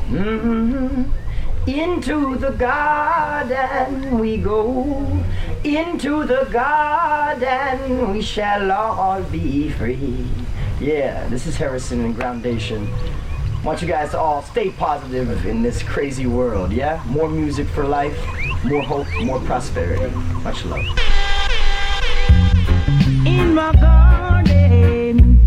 Mm-hmm. Into the garden we go, into the garden we shall all be free. Yeah, this is Harrison and Groundation. I want you guys to all stay positive in this crazy world, yeah? More music for life, more hope, more prosperity. Much love. In my garden,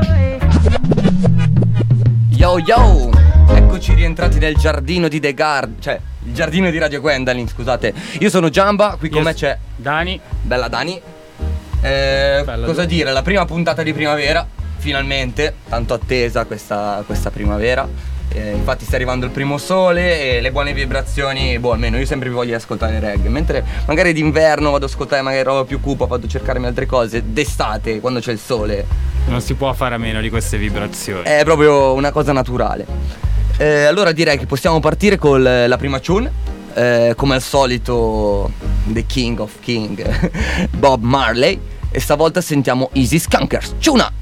Yo yo! Eccoci rientrati nel giardino di The Guard, cioè il giardino di Radio Gwendolyn, scusate. Io sono Giamba, qui con me c'è Dani. Bella Dani. Bella cosa Dani. dire, la prima puntata di primavera, finalmente, tanto attesa questa primavera. Infatti sta arrivando il primo sole e le buone vibrazioni, almeno io sempre vi voglio ascoltare reggae. Mentre magari d'inverno vado ad ascoltare magari roba più cupa, vado a cercarmi altre cose. D'estate, quando c'è il sole, non si può fare a meno di queste vibrazioni. è proprio una cosa naturale. Allora direi che possiamo partire con la prima tune. Come al solito The King of King Bob Marley. E stavolta sentiamo Easy Skunkers. Ciuna!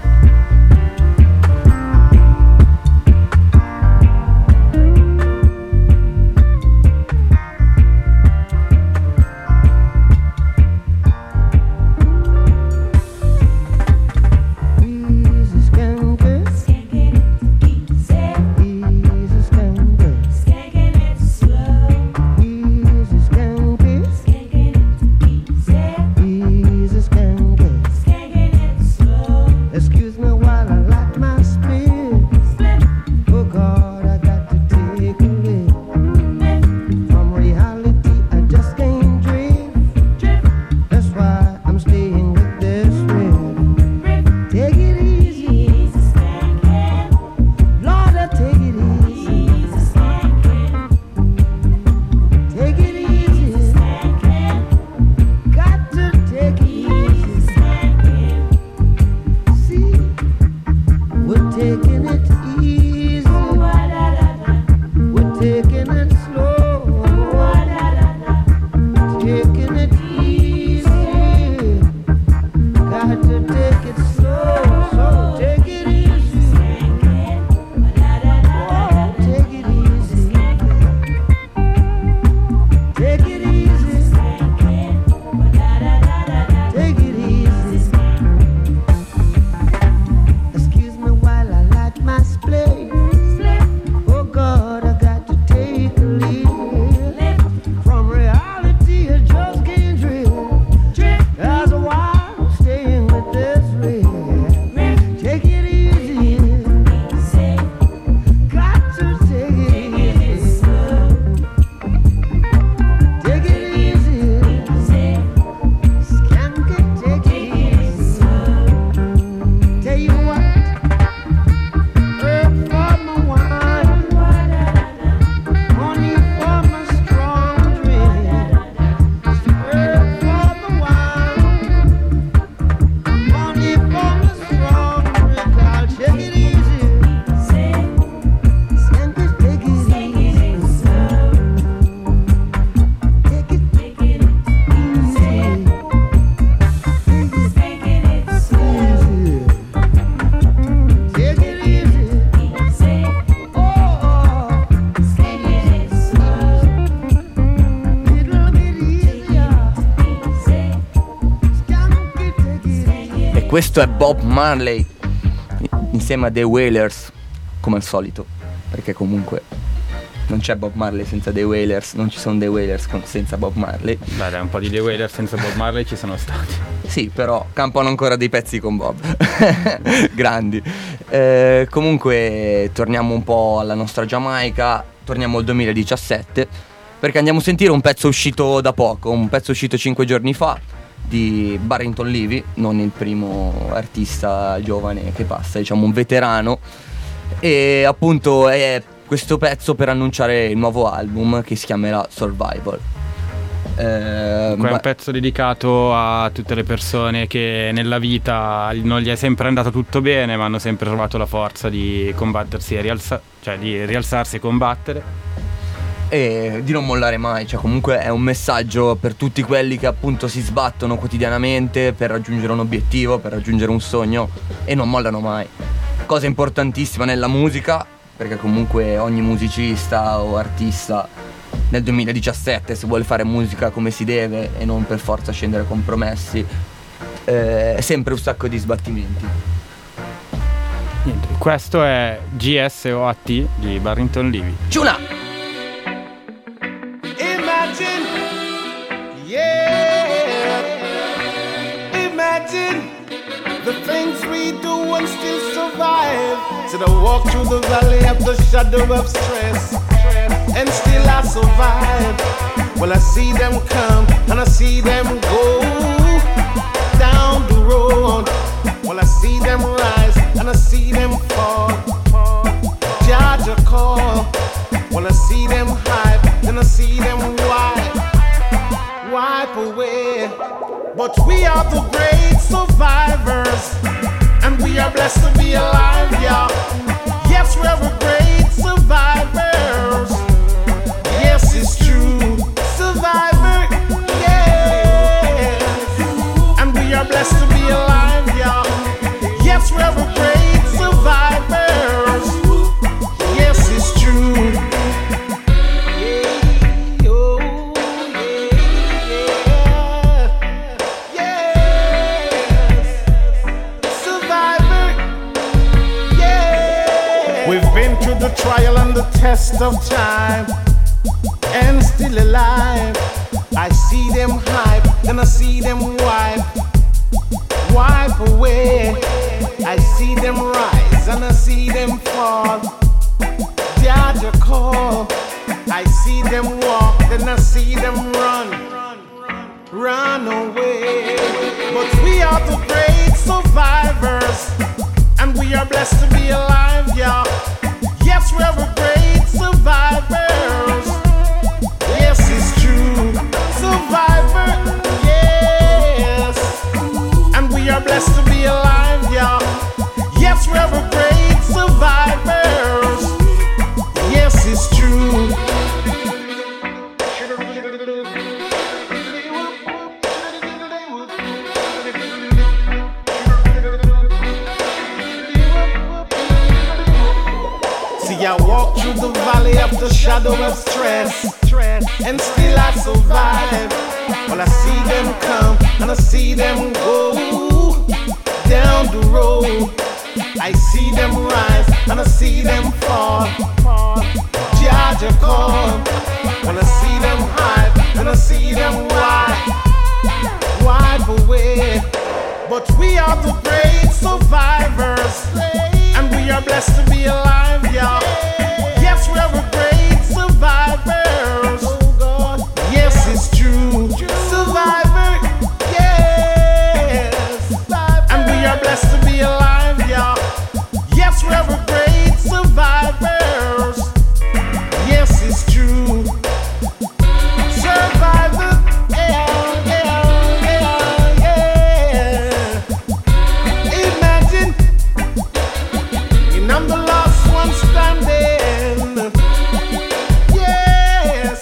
Questo è Bob Marley insieme a The Wailers, come al solito, perché comunque non c'è Bob Marley senza The Wailers, non ci sono The Wailers senza Bob Marley. Beh, dai, un po' di The Wailers senza Bob Marley ci sono stati. Sì, però campano ancora dei pezzi con Bob. Grandi. Comunque torniamo un po' alla nostra Giamaica, torniamo al 2017, perché andiamo a sentire un pezzo uscito da poco, un pezzo uscito 5 giorni fa di Barrington Levy, non il primo artista giovane che passa, diciamo un veterano, e appunto è questo pezzo per annunciare il nuovo album che si chiamerà Survival. È un pezzo dedicato a tutte le persone che nella vita non gli è sempre andato tutto bene, ma hanno sempre trovato la forza di combattersi e di rialzarsi e combattere. E di non mollare mai, cioè comunque è un messaggio per tutti quelli che appunto si sbattono quotidianamente per raggiungere un obiettivo, per raggiungere un sogno e non mollano mai. Cosa importantissima nella musica, perché comunque ogni musicista o artista nel 2017, se vuole fare musica come si deve e non per forza scendere a compromessi, è sempre un sacco di sbattimenti. Niente, questo è GSOAT di Barrington Levy. Ciuna! Imagine, yeah, imagine the things we do and still survive. Said I walk through the valley of the shadow of stress, and still I survive. Well, I see them come and I see them go down the road. Well, I see them rise and I see them fall. Judge a call. Well, I see them hype and I see them wipe away. But we are the great survivors, and we are blessed to be alive, yeah. Yes, we're the great survivors. Yes, it's true, survivor, yes. And we are blessed to be alive, yeah. Yes, we're the great survivors. Yes, it's true. The trial and the test of time, and still alive. I see them hype, then I see them wipe away. I see them rise and I see them fall. Judge a call. I see them walk, then I see them run away. But we are the great survivors, and we are blessed to be alive, yeah. Yes, we're the great survivors. Yes, it's true, survivor, yes. And we are blessed to be alive, yeah. Yes, we're the great survivors. Yes, it's true. I walk through the valley of the shadow of stress, and still I survive. Well, I see them come and I see them go down the road. I see them rise and I see them fall. Judge a call. Well, I see them hype and I see them wipe away. But we are the great survivors, and we are blessed to be alive, yeah. Yes, we're the great survivors. Yes, it's true, survivor, yes. And we are blessed to be alive, yeah. Yes, we're the great survivors. Yes, it's true. Survivor, yeah. Imagine, and I'm the last one standing. Yes.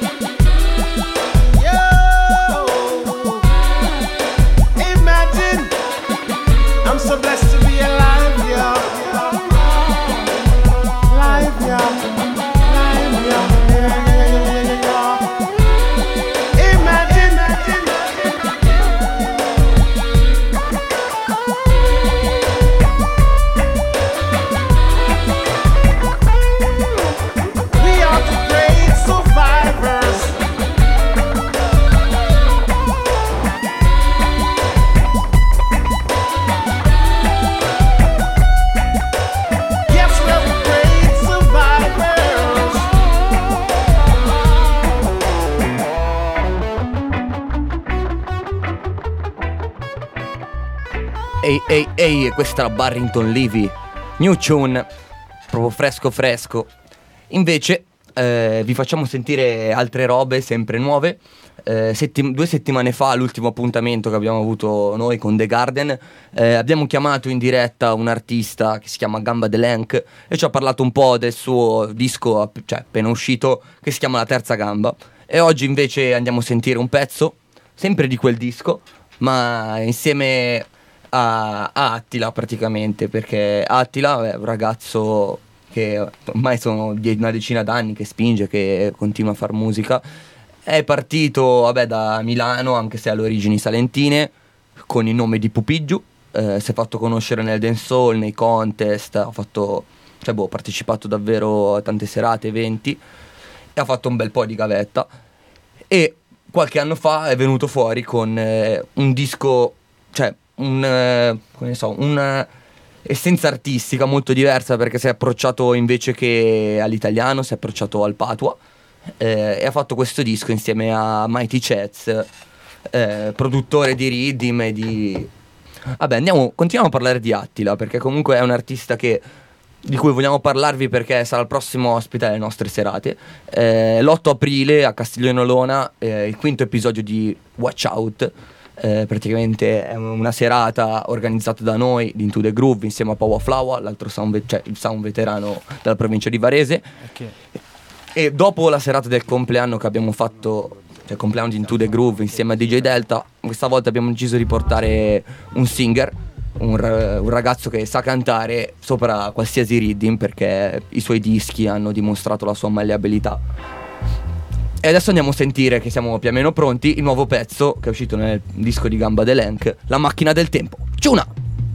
Yo. Imagine, I'm so blessed to be alive, yeah. Live, yeah. Live, yeah. Imagine. We are the great survivors. Yes, we're the great survivors. Ehi, questa è la Barrington Levy, new tune, proprio fresco. Invece vi facciamo sentire altre robe sempre nuove. 2 settimane fa, l'ultimo appuntamento che abbiamo avuto noi con The Garden, abbiamo chiamato in diretta un artista che si chiama Gamba Delenk e ci ha parlato un po' del suo disco appena uscito, che si chiama La Terza Gamba. E oggi invece andiamo a sentire un pezzo sempre di quel disco, ma insieme a Attila praticamente, perché Attila è un ragazzo che ormai sono una decina d'anni che spinge, che continua a far musica. È partito da Milano, anche se ha le origini salentine, con il nome di Pupigiu. Si è fatto conoscere nel dancehall, nei contest, ha partecipato davvero a tante serate, eventi, e ha fatto un bel po' di gavetta. E qualche anno fa è venuto fuori con un disco, una essenza artistica molto diversa, perché si è approcciato, invece che all'italiano, si è approcciato al patois, e ha fatto questo disco insieme a Mighty Chats, produttore di rhythm e di... continuiamo a parlare di Attila, perché comunque è un artista di cui vogliamo parlarvi, perché sarà il prossimo ospite alle nostre serate. L'8 aprile a Castiglione Olona, il quinto episodio di Watch Out. Praticamente è una serata organizzata da noi, di Into the Groove, insieme a Power Flower, l'altro il sound veterano della provincia di Varese. Okay. E dopo la serata del compleanno che abbiamo fatto, il compleanno di Into the Groove insieme a DJ Delta, questa volta abbiamo deciso di portare un singer, un ragazzo che sa cantare sopra qualsiasi rhythm, perché i suoi dischi hanno dimostrato la sua malleabilità. E adesso andiamo a sentire, che siamo più o meno pronti, il nuovo pezzo che è uscito nel disco di Gamba Delenk, La macchina del tempo. Ciuna!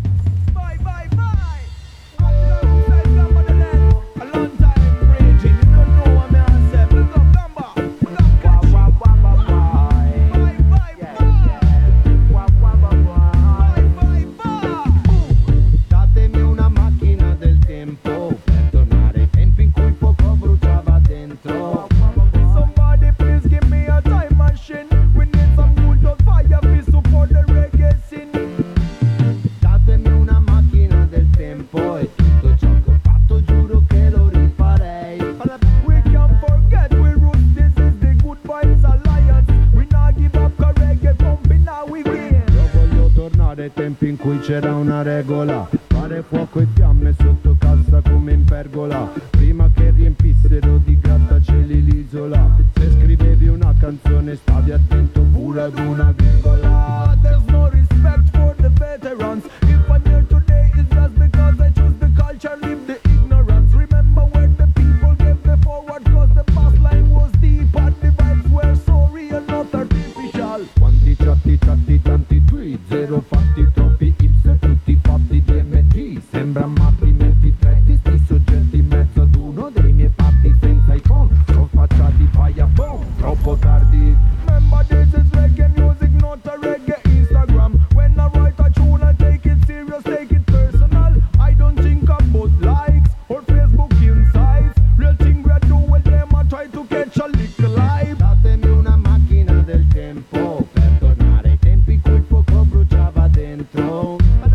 C'era una regola, fare fuoco e fiamme sotto cassa come in pergola, prima che riempissero di grattacieli l'isola. Se scrivevi una canzone stavi attento pure ad una virgola. There's no respect for the veterans. If I'm here today it's just because I choose the culture, leave the ignorance. Remember where the people gave the forward, cause the past line was deep and the vibes were so real, not artificial. Quanti chatti, tanti tweet, zero fatti, troppi tutti fatti DMG, sembra matti, metti tretti, sti soggetti in mezzo ad uno dei miei fatti senza iPhone, sono spacciati fai a boom, troppo tardi. Remember this is reggae music, not a reggae Instagram. When I write a tune I take it serious, take it personal. I don't think about likes or Facebook insights. Real thing we do with them, I try to catch a little life. Datemi una macchina del tempo per tornare ai tempi in cui il fuoco bruciava dentro.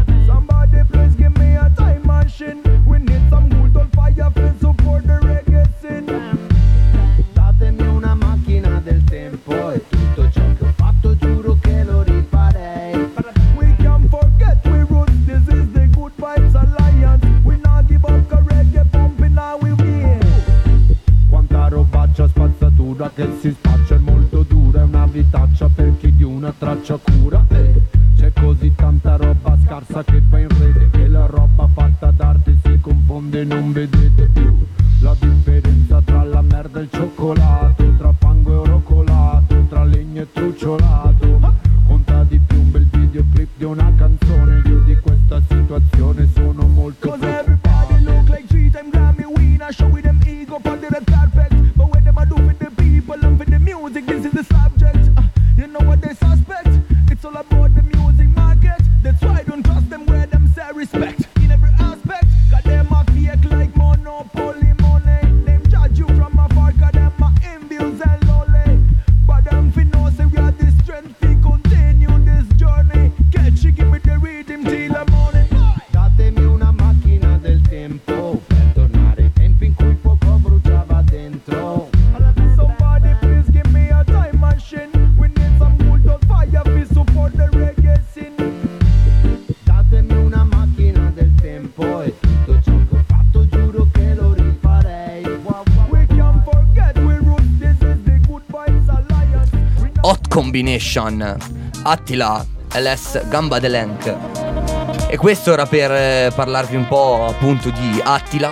We need some good old fire to support the reggae scene. Datemi una macchina del tempo e tutto ciò che ho fatto giuro che lo rifarei. We can't forget we roots, this is the Good Vibes Alliance. We not give up a reggae pumping, now we win. Quanta robaccia spazzatura che si spaccia è molto dura, è una vitaccia per chi di una traccia cura. C'è così tanta roba scarsa che va in rete, che la roba fatta d'arte si confonde, non vedete più la differenza tra la merda e il cioccolato, tra fango e oro colato, tra legno e trucciolato. Conta di più un bel videoclip di una canzone, io di questa situazione sono molto preoccupato. Cause everybody look like 3-time Grammy winner, showing them ego on the red carpet, but what them I do with the people and for the music, this is the subject. You know what they suspect, it's all about the music market. That's why I don't trust them where them say respect in every aspect. Cause them a fake like monopoly money. Them judge you from afar cause them a envious and lonely. But them fi know say we are the strength to continue this journey. Catch you, give me the rhythm till the morning. Datemi una macchina del tempo per tornare ai tempi in cui il fuoco bruciava dentro. Somebody please give me a time machine. We need some good old fire to support the reggae scene. Datemi una macchina del tempo e tutto ciò che ho fatto giuro che lo rifarei. We can't forget we roots, this is the Good Vibes Alliance. Hot Combination, Attila, LS, Gamba Delenk. E questo era per parlarvi un po' appunto di Attila,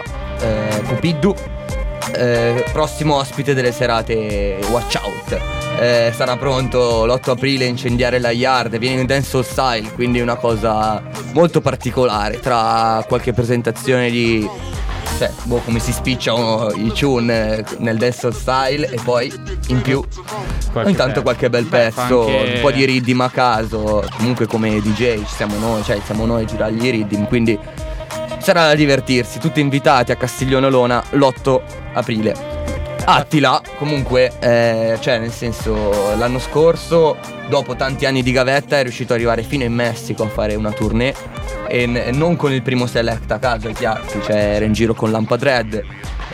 Pupiddu, prossimo ospite delle serate Watch Out. Sarà pronto l'8 aprile a incendiare la Yard, viene in dancehall style, quindi una cosa molto particolare, tra qualche presentazione di come si spicciano i tune nel dancehall style e poi in più ogni tanto qualche bel pezzo, un po' di riddim a caso. Comunque come DJ ci siamo noi, siamo noi a girargli i riddim, quindi sarà da divertirsi. Tutti invitati a Castiglione Olona l'8 aprile. Attila comunque nel senso, l'anno scorso dopo tanti anni di gavetta è riuscito ad arrivare fino in Messico a fare una tournée, e non con il primo select a caso, è chiaro, era in giro con Lampadred,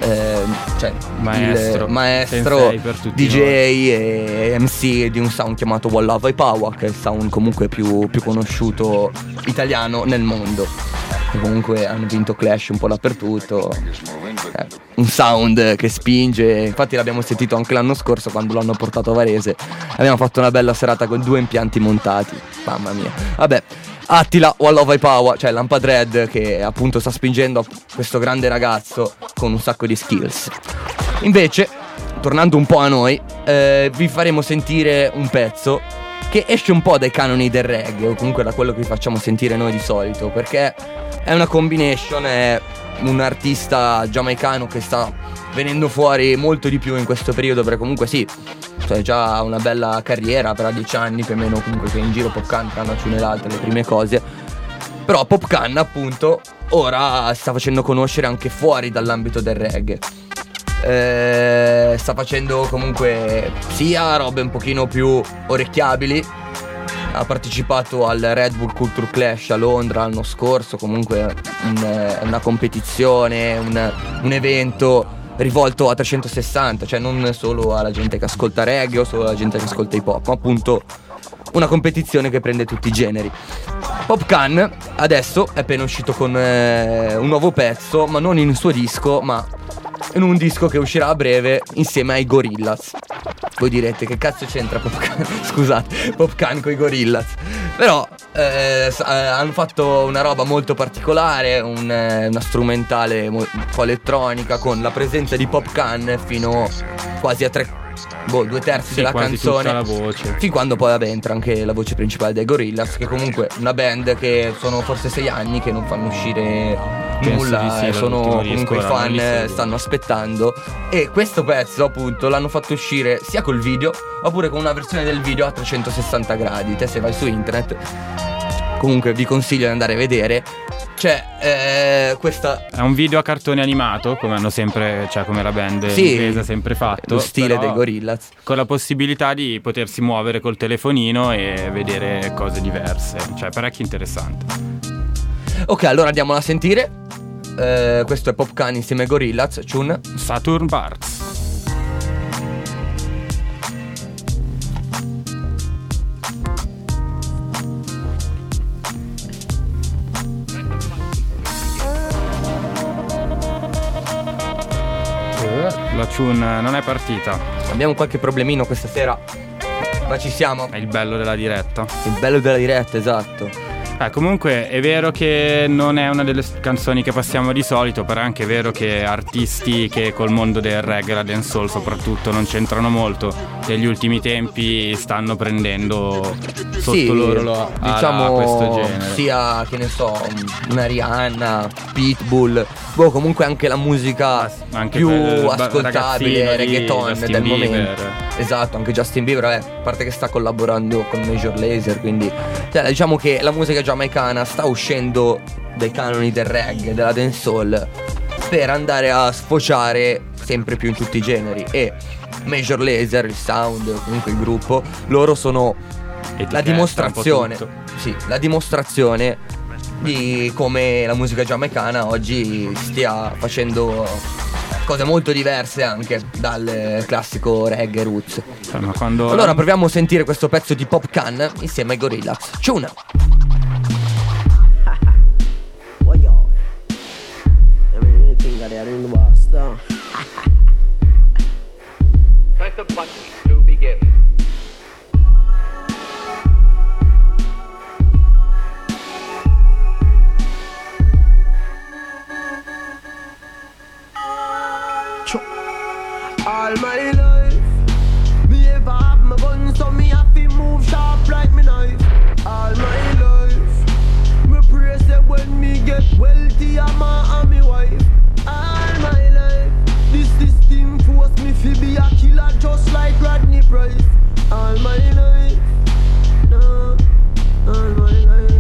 maestro DJ e MC di un sound chiamato One Love Power, che è il sound comunque più conosciuto italiano nel mondo. E comunque hanno vinto Clash un po' dappertutto, un sound che spinge. Infatti l'abbiamo sentito anche l'anno scorso quando l'hanno portato a Varese, abbiamo fatto una bella serata con 2 impianti montati, mamma mia. Vabbè, Attila, One Love Power, Lampadred, che appunto sta spingendo questo grande ragazzo con un sacco di skills. Invece, tornando un po' a noi, vi faremo sentire un pezzo che esce un po' dai canoni del reggae, o comunque da quello che vi facciamo sentire noi di solito, perché è una combination, è un artista giamaicano che sta venendo fuori molto di più in questo periodo, perché comunque c'è già una bella carriera, per 10 anni più o meno comunque che in giro Popcaan, tra una ciune e l'altra, le prime cose. Però Popcaan appunto ora sta facendo conoscere anche fuori dall'ambito del reggae. Sta facendo comunque sia robe un pochino più orecchiabili. Ha partecipato al Red Bull Culture Clash a Londra l'anno scorso, comunque una competizione, un evento rivolto a 360, non solo alla gente che ascolta reggae o solo alla gente che ascolta hip hop, ma appunto una competizione che prende tutti i generi. Popcaan adesso è appena uscito con un nuovo pezzo, ma non in un suo disco, ma in un disco che uscirà a breve insieme ai Gorillaz. Voi direte che cazzo c'entra Popcaan? Scusate, Popcaan coi Gorillaz. Però hanno fatto una roba molto particolare, una strumentale un po' elettronica, con la presenza di Popcaan fino quasi a 2/3 della canzone, tutta la voce, fin quando poi entra anche la voce principale dei Gorillaz, che comunque una band che sono forse 6 anni che non fanno uscire nulla, sono comunque i fan stanno aspettando, e questo pezzo appunto l'hanno fatto uscire sia col video oppure con una versione del video a 360 gradi. Te se vai su internet, comunque vi consiglio di andare a vedere. Questa è un video a cartone animato, come hanno sempre, come la band inglese ha sempre fatto, lo stile dei Gorillaz, con la possibilità di potersi muovere col telefonino e vedere cose diverse, parecchio interessante. Ok, allora andiamola a sentire. Questo è Popcaan insieme ai Gorillaz, tune Saturn Barks. La tune non è partita. Abbiamo qualche problemino questa sera, ma ci siamo. È il bello della diretta. Il bello della diretta, esatto. Comunque è vero che non è una delle canzoni che passiamo di solito, però è anche vero che artisti che col mondo del reggae, la dancehall soprattutto, non c'entrano molto, negli ultimi tempi stanno prendendo sotto loro questo genere. Sia, che ne so, una Rihanna, Pitbull, comunque anche la musica anche più ascoltabile, reggaeton del momento. Esatto, anche Justin Bieber, a parte che sta collaborando con Major Lazer, quindi diciamo che la musica giamaicana sta uscendo dai canoni del reggae, della dancehall, per andare a sfociare sempre più in tutti i generi. E Major Lazer, il sound, comunque il gruppo, loro sono la dimostrazione, la dimostrazione di come la musica giamaicana oggi stia facendo cose molto diverse anche dal classico reggae roots. Allora proviamo a sentire questo pezzo di Popcaan insieme ai Gorillaz. Tuna. Press the button to begin. all my life. Me ever have my gun, so me have to move sharp like me knife. All my life, me pray say when me get wealthy, I'm and me wife. All my life, this system force me to be a killer just like Rodney Price. All my life, no, all my life.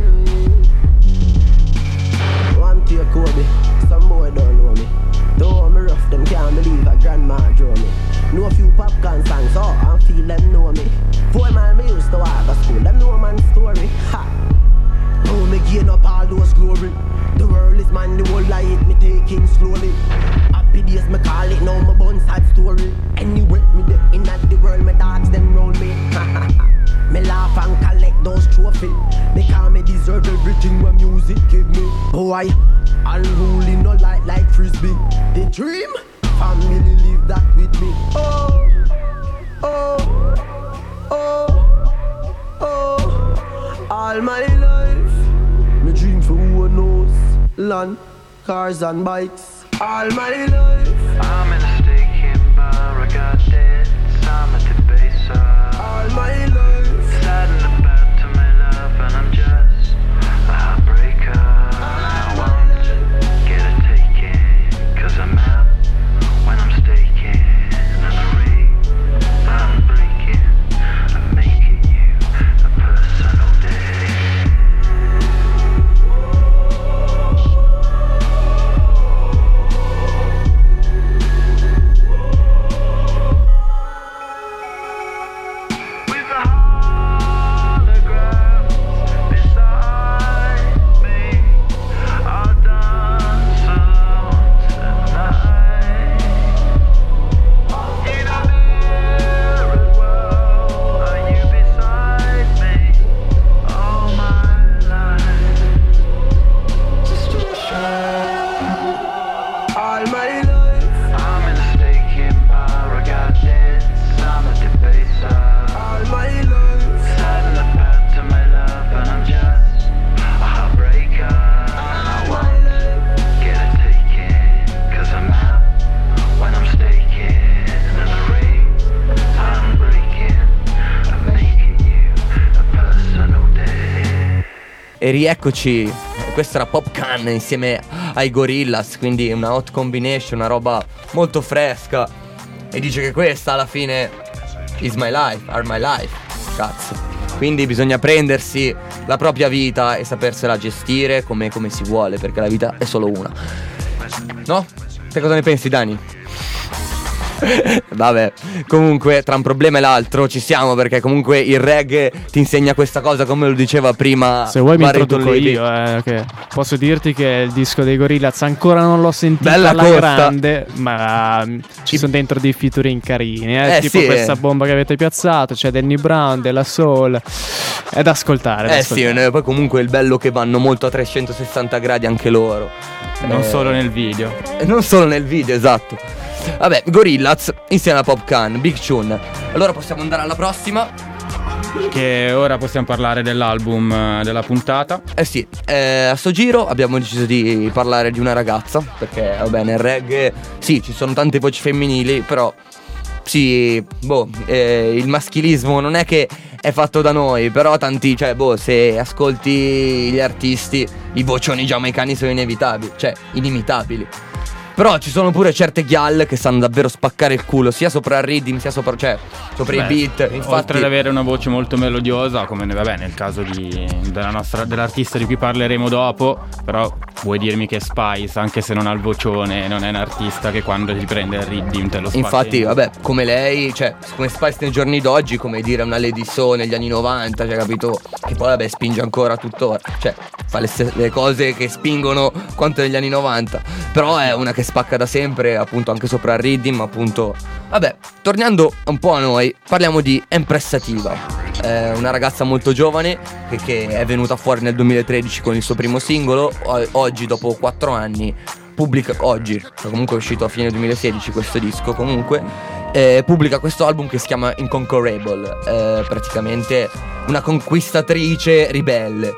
One to your Kobe, some boy don't know me. Though me rough, them can't believe a grandma draw me. Know a few popcorn songs, oh, and feel them know me. 4 mile me used to walk to school, them know man's story. Ha! Now me gain up all those glory. The world is mine, the whole life me taking slowly. Happy days me call it, now my bun sad story. Anyway, me the in the world, me dogs them round me. Me laugh and collect those trophies. Because me deserve everything my music give me. Boy, unruly no like frisbee. The dream, family live that with me. Oh, oh, oh, oh. All my life, me dream for who knows. Land, cars and bikes. All my life, I'm in a staking bar, I got debts, I'm at the base. all my life, Sad and about to my love, and I'm just a heartbreaker. I won't get a taking, 'cause I'm out when I'm staking. And the ring I'm breaking, I'm making you a personal day. With a hologram beside me, I'll dance alone tonight. In a mirrored world, are you beside me all my life? all my life, I'm in a staking bar, I got debts, I'm a debaser. all my life, Sad and about to my love, and I'm just a heartbreaker. I won't get a taking, 'cause I'm out when I'm staking. And the ring I'm breaking, I'm making you a personal day. E rieccoci, questa era Popcan insieme ai Gorillaz, quindi una hot combination, una roba molto fresca. E dice che questa alla fine is my life, are my life, cazzo. Quindi bisogna prendersi la propria vita e sapersela gestire come si vuole, perché la vita è solo una. No? Te cosa ne pensi, Dani? Vabbè, comunque tra un problema e l'altro ci siamo, perché comunque il reggae ti insegna questa cosa, come lo diceva prima. Se vuoi mi Barrington introduco Levy. io, che posso dirti che il disco dei Gorillaz ancora non l'ho sentito Bella alla costa. grande, ma ci sono dentro dei featuring carini, tipo sì, questa bomba che avete piazzato, c'è Danny Brown, della Soul, è da ascoltare. Sì, poi comunque il bello che vanno molto a 360 gradi anche loro. Non solo nel video. Non solo nel video, esatto. Vabbè, Gorillaz insieme a Popcan, Big Tune. Allora possiamo andare alla prossima. Che ora possiamo parlare dell'album della puntata. Sì, a sto giro abbiamo deciso di parlare di una ragazza, perché vabbè nel reggae sì, ci sono tante voci femminili, però sì, il maschilismo non è che è fatto da noi, però tanti, cioè se ascolti gli artisti, i vocioni giamaicani sono inevitabili, cioè inimitabili. Però ci sono pure certe ghal che sanno davvero spaccare il culo, sia sopra il rhythm, sia sopra i beat. Infatti, oltre ad avere una voce molto melodiosa, come nel caso dell'artista di cui parleremo dopo, però vuoi dirmi che Spice, anche se non ha il vocione, non è un artista che quando ti prende il rhythm te lo spazza. infatti, vabbè, come lei, cioè come Spice nei giorni d'oggi, come dire una Lady So negli anni 90, cioè capito? Che poi vabbè spinge ancora tuttora, cioè fa le cose che spingono quanto negli anni 90. Però è una che spacca da sempre, appunto anche sopra il rhythm, appunto. Vabbè, tornando un po' a noi, parliamo di Empressativa, una ragazza molto giovane che è venuta fuori nel 2013 con il suo primo singolo. Oggi, dopo 4 anni, pubblica, oggi, comunque è uscito a fine 2016 questo disco, comunque pubblica questo album che si chiama Inconquerable, praticamente una conquistatrice ribelle.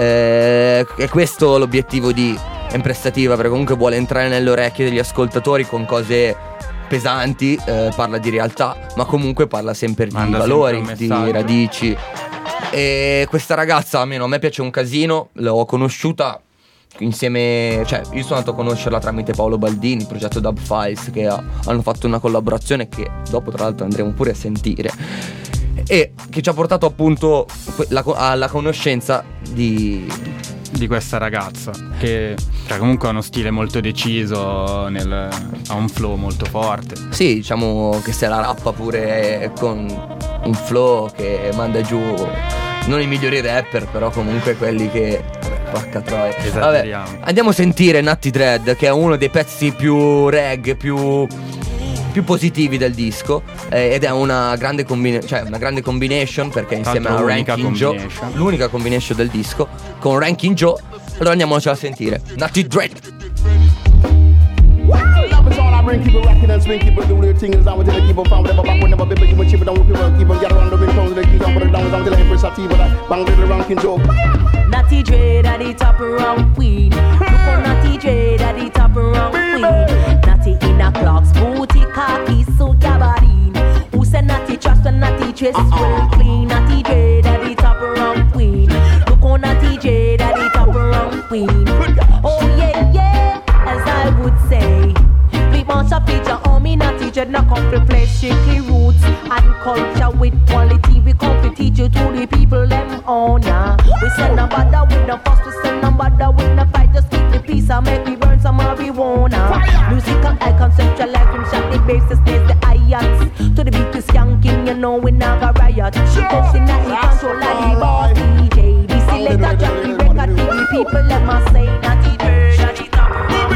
È questo l'obiettivo di Empressativa, perché comunque vuole entrare nelle orecchie degli ascoltatori con cose pesanti, parla di realtà, ma comunque parla sempre di Manda valori, sempre un di messaggio. radici. E questa ragazza, almeno a me piace un casino, l'ho conosciuta insieme, cioè io sono andato a conoscerla tramite Paolo Baldini, il progetto Dub Files, che hanno fatto una collaborazione che dopo tra l'altro andremo pure a sentire, e che ci ha portato appunto alla conoscenza di questa ragazza che comunque ha uno stile molto deciso, ha un flow molto forte. Sì, diciamo che se la rappa pure con un flow che manda giù non i migliori rapper, però comunque quelli che porca troia. Esageriamo. Vabbè, andiamo a sentire Natty Dread, che è uno dei pezzi più reggae, più positivi del disco, ed è una grande combination, perché insieme a Ranking Joe, l'unica combination del disco con Ranking Joe. Allora andiamocela a sentire. Natty Dread. Love is all I bring, keep it rocking and swing, keep it doing the thing is I will tell you, keep on found, whatever back, whenever people, keep on chip it down, keep on get around the ringtones, they keep on put it down, until I embrace a tea, but I bang little ranking joke. Natty Dread at the top around queen. Look on Natty Dread at the top around queen. Natty in a clocks, booty, khaki, suit, gabardine. Who said Natty trust and Natty dress well clean? Natty Dread at the top around queen. Look on Natty Dread at the top around queen. Oh yeah, yeah, as I would say. Months of feature on me, Natty Dread, not come to play strictly roots and culture with quality. We come to teach you to the people them on ya. We send no bother with no fuss, we send no bother with no fight. Just keep the peace and make we burn some marijuana. Music and I conceptualize from shot the bases, there's the ions. To the beat is skanking, you know we never riot. She comes in and he control like the boss DJ. We select a jack the record, the people let me say Natty Dread at the top of the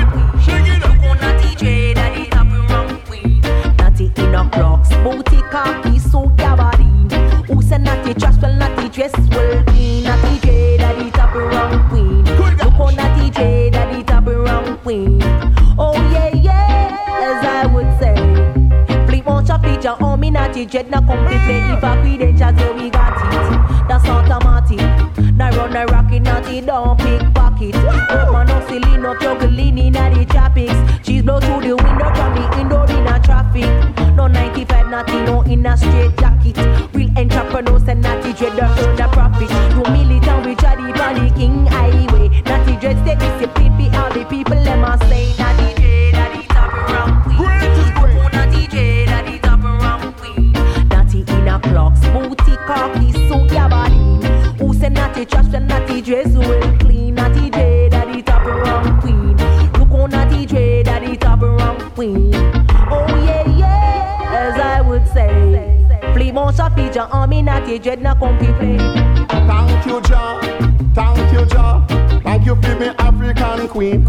Natty Dread at the top around queen. Natty in a clocks, booty, khaki, suit, gabardine. Who said Natty trash, well Natty dress well clean. Natty Dread at the top around queen. Look on Natty Dread at the top around queen. Oh yeah, yeah, as I would say. Flip on your feature on me, Natty Dread, now come to play. If a credentials, yeah we got it. That's automatic. Now run a rocket, Natty don't pickpocket. Woman no silly, no juggling in the tropics. She's blow through the window from the indoor in a traffic. No 95 Natty, no in a straight jacket. Real entrepreneurs and Natty Dread don't earn the profit. No militant, we try the panicking highway. Natty Dread stay disciplined for all the people, let me say Natty Dread at the top around queen. Oh, Natty Dread at the top around queen. Natty in a clocks, booty, khaki, suit, gabardine. Who said Natty trash and Natty dress well clean? Natty Dread at the top around queen. Look on Natty Dread at the top around queen. Oh yeah, yeah, as I would say. Flip on your feature on me, Natty Dread, now come to play. Thank you, Jah. Thank you, Jah. Thank you for me African queen.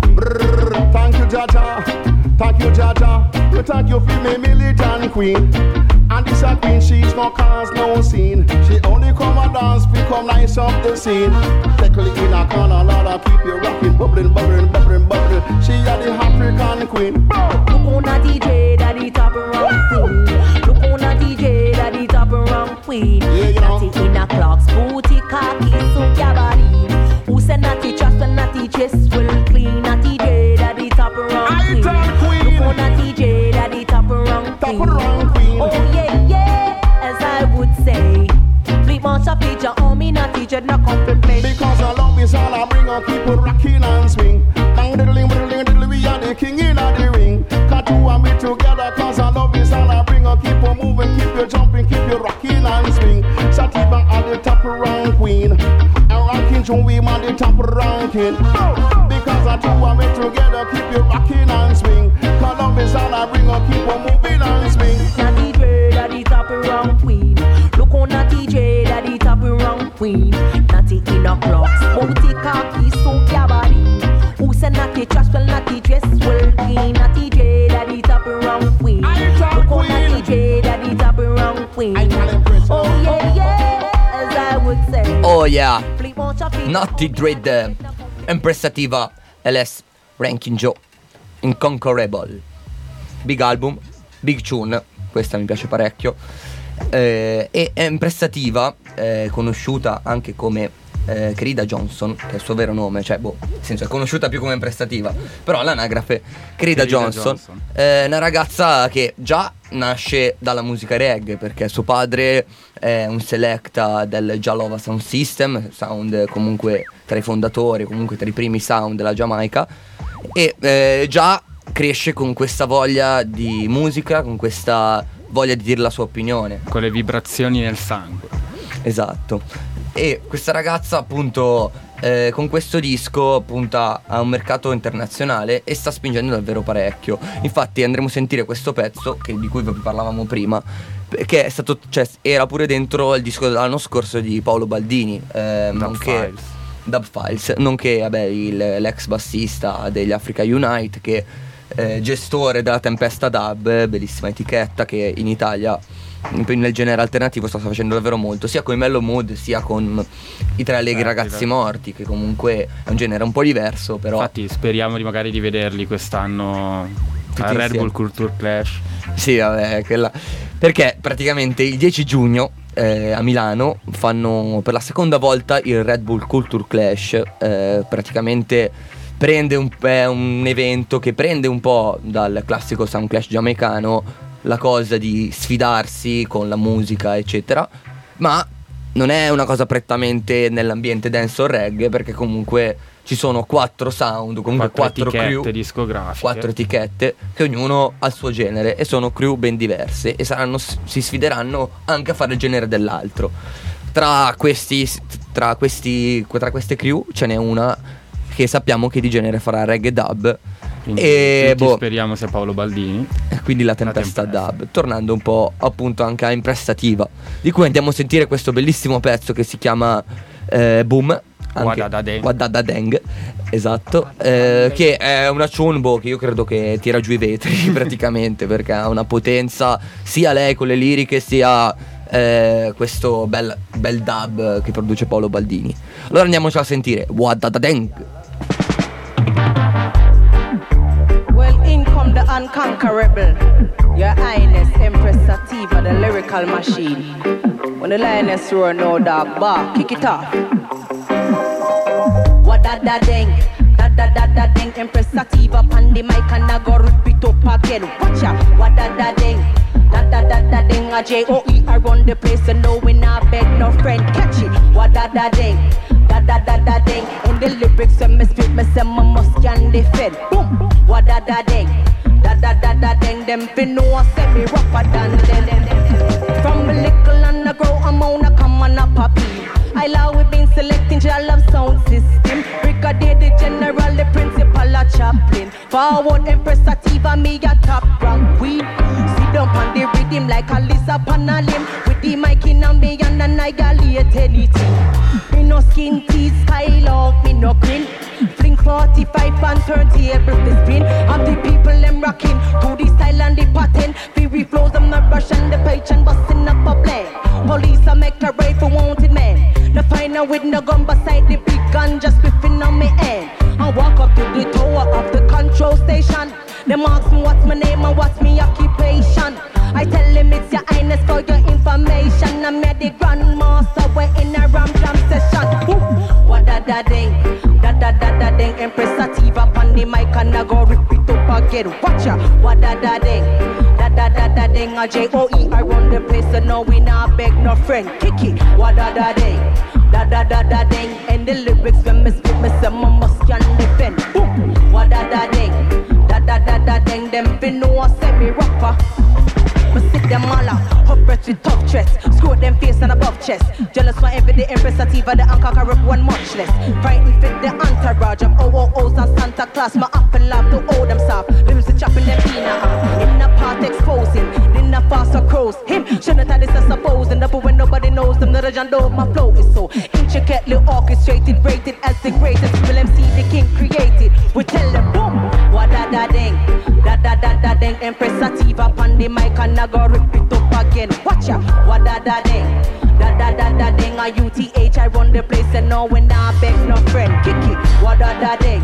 Brrr. Thank you, Jah Jah. Thank you, Jah Jah. Thank you for me militant queen. And this a queen, she's no cause, no scene. She only come and dance, become nice up the scene. Tackle it in a corner, Lord, keep you rocking, bubbling, bubbling, bubbling, bubbling. She a the African queen. Look on Natty Dread at the top around queen. Look on Natty Dread at the top around queen. Yeah, you know. Natty in a clocks, booty, khaki, suit, gabardine. Who said Natty trust and Natty dress well clean? Natty Dread at the top around queen. Look on Natty Dread at the top around queen. Top around queen. Oh yeah, yeah, as I would say. Flip on your feature on me, Natty Dread, not come to play. Because I love is all I bring, I keep it rocking and swing. Bang diddling, diddling, diddling, we are the king in the ring. Got two and me together, cause I love is all I bring, I keep on moving, keep you jumping, keep you rocking and swing. Satiba at the top around queen. And rocking Joe, we man the top ranking. Because I two and me together, keep you rocking and swing. Cause love is all I bring, I keep on moving and swing. Natty Dread at the top around queen. Look on Natty Dread at the top around queen. Natty in a clocks, booty, khaki, suit, gabardine. Who said Natty trash, well Natty dress well clean. Natty Dread at the top around queen. Look on Natty Dread at the top around queen. Oh yeah, yeah, as I would say. Oh yeah, Natty Dread, Impressativa, LS, Ranking Joe, Inconquerable. Big album, big tune, questa mi piace parecchio. E è Impressativa, conosciuta anche come Crida Johnson, che è il suo vero nome, cioè nel senso è conosciuta più come imprestativa, però l'anagrafe Crida Johnson è una ragazza che già nasce dalla musica reggae, perché suo padre è un selecta del Jalova Sound System, sound comunque tra i fondatori, comunque tra i primi sound della Giamaica, e già cresce con questa voglia di musica, con questa voglia di dire la sua opinione, con le vibrazioni nel sangue. Esatto. E questa ragazza appunto con questo disco punta a un mercato internazionale e sta spingendo davvero parecchio. Infatti andremo a sentire questo pezzo di cui vi parlavamo prima, che è stato, era pure dentro il disco dell'anno scorso di Paolo Baldini, Dub Files, nonché l'ex bassista degli Africa Unite, che gestore della Tempesta Dub, bellissima etichetta che in Italia nel genere alternativo sta facendo davvero molto, sia con i Mellow Mood sia con i Tre Allegri Ragazzi Morti, che comunque è un genere un po' diverso, però infatti speriamo magari di vederli quest'anno al Red Bull Culture Clash. Sì, quella, perché praticamente il 10 giugno a Milano fanno per la seconda volta il Red Bull Culture Clash. Praticamente prende un evento che prende un po' dal classico Sound Clash giamaicano, la cosa di sfidarsi con la musica eccetera, ma non è una cosa prettamente nell'ambiente dance o reggae, perché comunque ci sono 4 sound, comunque 4 crew discografiche, 4 etichette che ognuno ha il suo genere e sono crew ben diverse e si sfideranno anche a fare il genere dell'altro. Tra queste crew ce n'è una che sappiamo che di genere farà reggae dub, e speriamo sia Paolo Baldini, quindi la Tempesta Dub, tornando un po' appunto anche a imprestativa, di cui andiamo a sentire questo bellissimo pezzo che si chiama Boom, Wadada Deng, esatto, che è una chunbo che io credo che tira giù i vetri praticamente, perché ha una potenza sia lei con le liriche sia questo bel dub che produce Paolo Baldini. Allora andiamoci a sentire Wadada Deng. The unconquerable, Your Highness Empress Sativa, the lyrical machine. When the lioness roar, no dog bark, kick it off. What da ding, da ding, Empress Sativa on the mic and I go rip it up again. Watch out, what da ding, da ding, a J-O-E, I run the place and no we not beg no friend, catch it. What da ding, da ding, in the lyrics when me spit, me say my must can defend. Boom, what da ding. Da ding, them fi know I say me rougher than them. From a little and I grow, I'm on a come on a poppy. I love we been selecting your love sound system. Brigadier the general, the principal a chaplain. Forward Empress Sativa, me a top rank queen. Sit down on the rhythm like a lizard upon a limb. With the mic in a me and annihilate anything. Me no skin teeth, skylark, me no grin. Fling 45 and turntable to spin. And the people them rocking to the style and the pattern. Fury flows them not rush and the page and busting up a blend. Police a make a raid for wanted men. The final with no gun beside the big gun just whipping on me end. I walk up to the tower of the control station. Them ask me what's my name and what's my occupation. I tell them it's Your Highness for your information. I'm the grandmaster, we're in a ram jam session. What da ding, da ding, Empress Sativa on the mic and I go rip it up again. Watch out, what da ding, da ding, a J-O-E, I run the place so no we not beg no friend. Kick it, what da ding, da ding, and the lyrics when me spit me say my must can defend. Boom, what da ding, da ding, them fi know I say me rapper. Me sit them all out, up breath with tough threats. Screw them face and above chest. Jealous for every day, Empress Sativa, the unconquerable one much less. Frightened fit the entourage of OOOs and Santa Claus. My apple love to hold them soft. Limbs to chopping them peanut. In the part exposing, in the faster crows. Him shouldn't have this as supposing. The when nobody knows them, the legend of my flow is so intricately orchestrated, rated as the greatest. Will MC the king created. We tell them boom, what da ding, da ding, Empress Sativa on the mic and I go rip it up again. Watch out, what da ding, da ding, a UTH, I run the place and no when I beg no friend. Kick it, what da ding,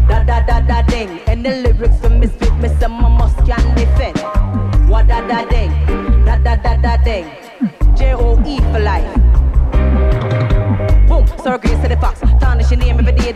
da ding, and the lyrics for me spit, me say my must can defend. What da ding, da ding, J-O-E for life. Boom, so grace to the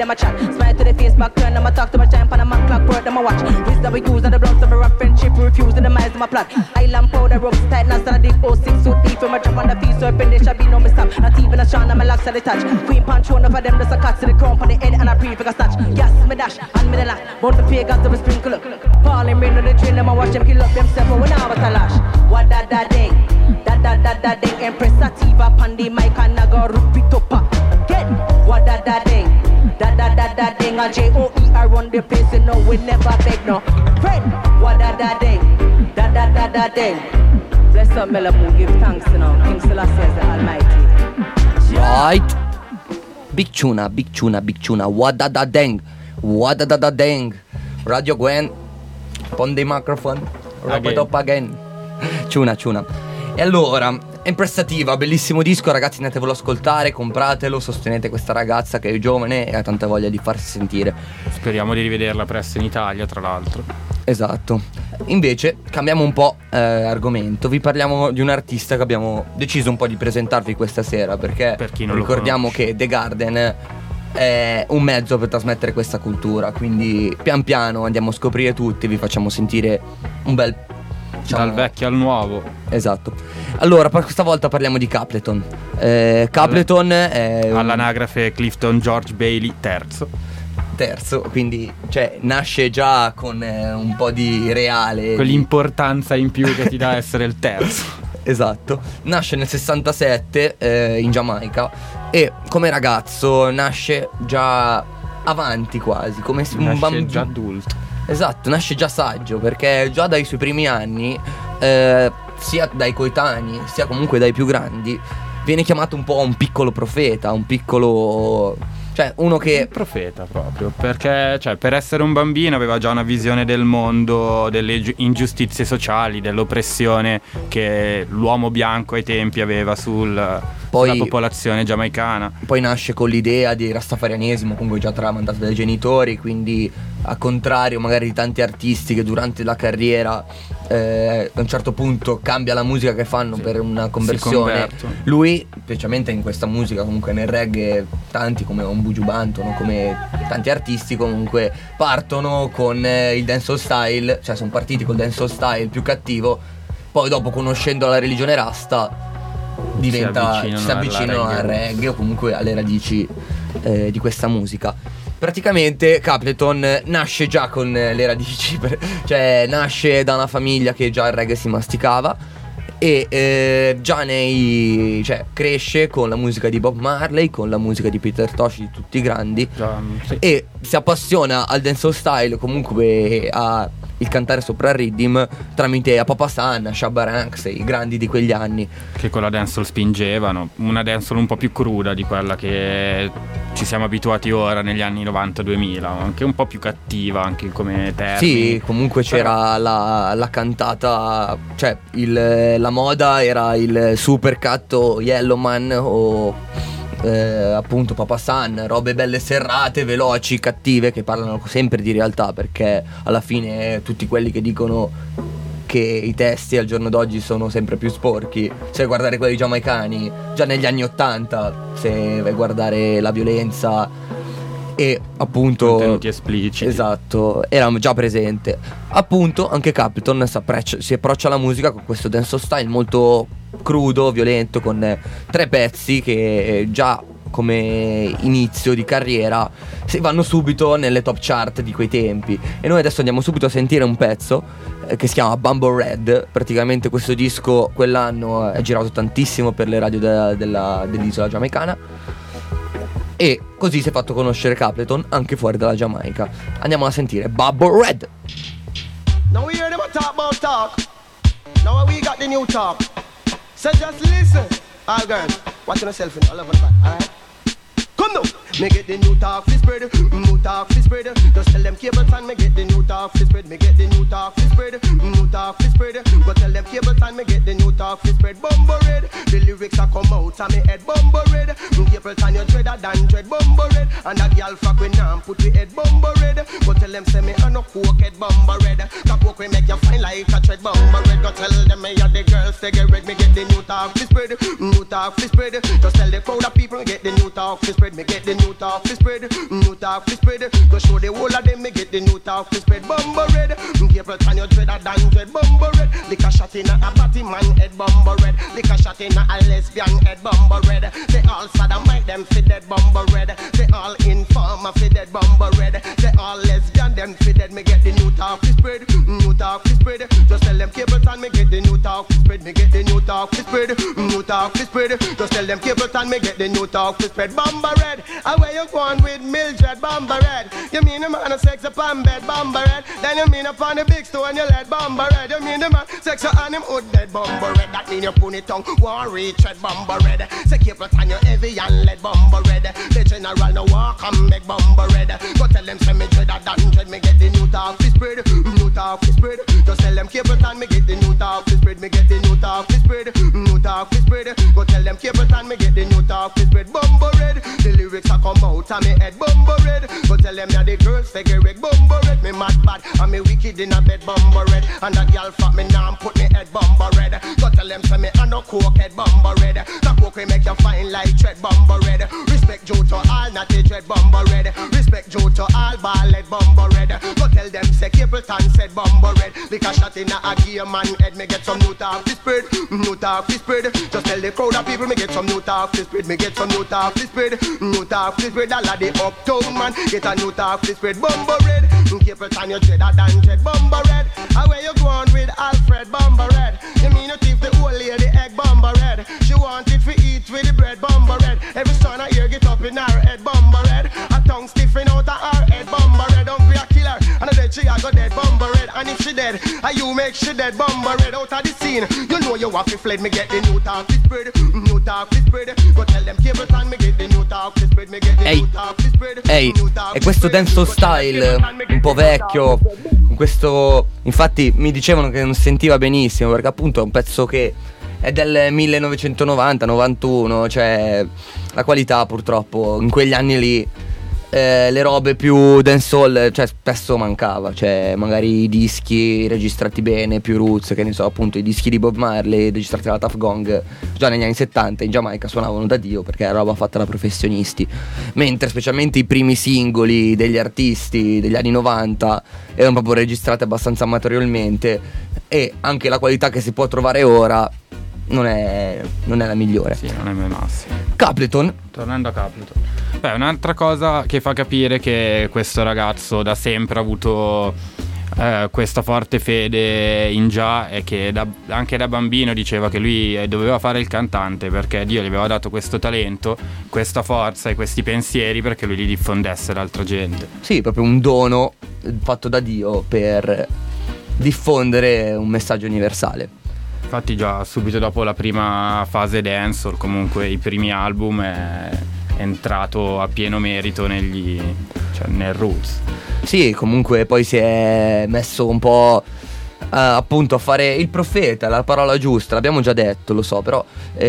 them a chat. Smile to the face, back turn, them a talk to my time, pan a man clock, word, them a watch. Wisdom we use, and the bloods of a rough friendship, refuse, and the minds of my plot. Island powder, ropes tight, now stand a deep 06 suit deep, from a drop on the feet, so if there shall be no mistake. Not even a strong, and my locks are detached. Queen punch, one of them, just a cut to the crown, on the head, and a pre-figure snatch. Yes, me dash, and me the lash, both the pagans, them a sprinkle up. Falling rain on the train, them a watch them kill up themselves, but when I was a lash. What da ding, da ding, Empress Sativa, Pandi, Mike, and Naga, Rupitopa. Get what da ding, da ding, a J-O-E-R run the place, you know we never beg no friend. What da ding, da ding. Bless up, Melabu, give thanks, you know, King Selassie is the Almighty. Right. Big tuna, what da deng, Radio Gwen, on the microphone, wrap it up again. Tuna. E allora, Empress Sativa, bellissimo disco, ragazzi, andatevelo ad ascoltare, compratelo, sostenete questa ragazza che è giovane e ha tanta voglia di farsi sentire. Speriamo di rivederla presto in Italia, tra l'altro. Esatto. Invece cambiamo un po' argomento. Vi parliamo di un artista che abbiamo deciso un po' di presentarvi questa sera, perché per chi non ricordiamo che The Garden è un mezzo per trasmettere questa cultura. Quindi pian piano andiamo a scoprire tutti, vi facciamo sentire un bel, diciamo, dal vecchio al nuovo. Esatto. Allora, per questa volta parliamo di Capleton. Capleton è all'anagrafe Clifton George Bailey terzo, quindi cioè nasce già con un po' di reale, quell'importanza in più che ti dà essere il terzo. Esatto. Nasce nel 67 in Giamaica e come ragazzo nasce già avanti quasi, come un bambino già adulto. Esatto, nasce già saggio, perché già dai suoi primi anni, sia dai coetanei sia comunque dai più grandi, viene chiamato un po' un piccolo profeta, un piccolo, cioè uno che profeta proprio, perché cioè per essere un bambino aveva già una visione del mondo, delle ingiustizie sociali, dell'oppressione che l'uomo bianco ai tempi aveva sulla popolazione giamaicana. Poi nasce con l'idea di rastafarianesimo, comunque già tramandato dai genitori, quindi a contrario magari di tanti artisti che durante la carriera a un certo punto cambia la musica che fanno, sì, per una conversione. Lui, specialmente in questa musica, comunque nel reggae, tanti come Buju Banton, come tanti artisti comunque partono con il dancehall style, cioè sono partiti col dancehall style più cattivo, poi dopo conoscendo la religione rasta si avvicinano al reggae o comunque alle radici di questa musica. Praticamente Capleton nasce già con le radici, cioè nasce da una famiglia che già il reggae si masticava e già cioè cresce con la musica di Bob Marley, con la musica di Peter Tosh, di tutti i grandi, sì. E si appassiona al dancehall style, comunque a il cantare sopra il rhythm tramite a Papa San, a Shabba Ranks, i grandi di quegli anni che con la dancehall spingevano, una dancehall un po' più cruda di quella che ci siamo abituati ora negli anni 90-2000, anche un po' più cattiva anche come termini. Sì, comunque c'era la cantata, cioè la moda era il super catto Yellowman o appunto Papa San, robe belle serrate, veloci, cattive, che parlano sempre di realtà, perché alla fine tutti quelli che dicono che i testi al giorno d'oggi sono sempre più sporchi, se vai a guardare quelli giamaicani già negli anni 80, se vai a guardare la violenza e appunto contenuti espliciti, esatto, era già presente. Appunto anche Capleton si approccia alla musica con questo dancehall style molto crudo, violento, con 3 pezzi che già come inizio di carriera si vanno subito nelle top chart di quei tempi. E noi adesso andiamo subito a sentire un pezzo che si chiama Bumble Red. Praticamente questo disco quell'anno è girato tantissimo per le radio dell'isola giamaicana e così si è fatto conoscere Capleton anche fuori dalla Giamaica. Andiamo a sentire Bumble Red. Now we hear them talk about talk. Now we got the new talk. So just listen. All girls, watching yourself in all over the back, alright? Come now, me get the new talk fi spread, new talk fi spread. Just tell them Capleton, me get the new talk fi spread, me get the new talk fi spread, new talk fi spread. Go tell them Capleton, me get the new talk fi spread. Bumble Red, the lyrics a come out of me head. Bumble Red, Capleton you dreader than dread. Bumble Red, and a girl fuck when I'm put the head. Bumble Red, go tell them say me a no coke head. Bumble Red, coke we make you fine like a tread bomber red. Go tell them me and the girls they get red. Me get the new talk fi spread, new talk fi spread. Just tell the crowd of people me get the new talk fi spread. Me get the new talk fi spread, new talk fi spread. Go show the whole of them me get the new talk fi spread. Bumper red, careful turn your dread than dread. Bumper red, lick a shot in a batty man head. Bumper red, lick a shot in a lesbian head. Bumper red, they all sodomite them fi dead. Bumper red, they all informer fi dead. Bumper red, they all lesbian them fi dead. Me get the new talk fi spread, new talk fi spread. Just tell them Capleton me get the new talk fi spread. Me get the new talk fi spread, new talk fi spread. Just tell them Capleton me get the new talk fi spread. Bumper red, where you going with Mildred? Bumper red, you mean the man a sex upon bed? Bumper red, then you mean upon the big store and you let Bumper red. You mean the man sex on him hood dead? Bumper red, that mean you pony tongue won't reach red. Bumper red, say Capleton you heavy and let Bumper red. The general no walk and make Bumper red. Go tell them say me dread a than dread. Me get the new talk fi spread, new talk fi spread. Just tell them Capleton me get the new talk fi spread. Me get the new talk fi spread, new talk fi spread. Go tell them Capleton me get the new talk fi spread. Bumper red, the lyrics a come out of me head. Bumper red, go tell them yeah the girls figure red. Bumper red, me mad bad and me wicked in a bed. Bumper red, and that girl fat me now put me head. Bumper red, go tell them say me a no coke head. Bumper red, that coke we make you fine like tread. Bumper red, respect Joe to all not the dread. Bumper red, respect Joe to all ball head. Bumper red, go tell them say Capleton said Bumper red. Lick a shot in a gear man head. Me get some new talk fi spread, new talk fi spread. Just tell the crowd of people me get some new talk fi spread. Me get some new talk fi spread, new talk fi spread. All of the uptown man get a new talk fi spread. Bumper red, Capleton you dread a than dread. Bumper red, where you going with Alfred? Bumper red, you mean you thief the old lady egg? Bumper red, she want it for eat with the bread. Bumper red, every son I hear get up in her head. Bumper red, a tongue stiffing out of her head. Bumper red, don't be a killer, and I dead she a go dead. Bumper red, and if she dead, you make she dead. Bumper red out of the scene, you know you have to fled. Me get the new talk fi spread, new talk fi spread. Go tell them Capleton me get the new talk fi spread. Me get the new talk fi spread. Ehi, e questo dancehall style un po' vecchio, questo infatti mi dicevano che non si sentiva benissimo perché appunto è un pezzo che è del 1990-91, cioè la qualità purtroppo in quegli anni lì le robe più dancehall, cioè spesso mancava, cioè magari i dischi registrati bene, più roots, che ne so, appunto i dischi di Bob Marley registrati dalla Tuff Gong già negli anni 70 in Giamaica suonavano da Dio perché era roba fatta da professionisti, mentre specialmente i primi singoli degli artisti degli anni 90 erano proprio registrati abbastanza amatorialmente e anche la qualità che si può trovare ora non è la migliore. Sì, non è il massimo. Capleton. Tornando a Capleton, un'altra cosa che fa capire che questo ragazzo da sempre ha avuto questa forte fede in Jah è che anche da bambino diceva che lui doveva fare il cantante perché Dio gli aveva dato questo talento, questa forza e questi pensieri perché lui li diffondesse ad altra gente. Sì, proprio un dono fatto da Dio per diffondere un messaggio universale. Infatti già subito dopo la prima fase dancehall, comunque i primi album, è entrato a pieno merito nel roots. Sì, comunque poi si è messo un po' appunto a fare il profeta, la parola giusta, l'abbiamo già detto, lo so, però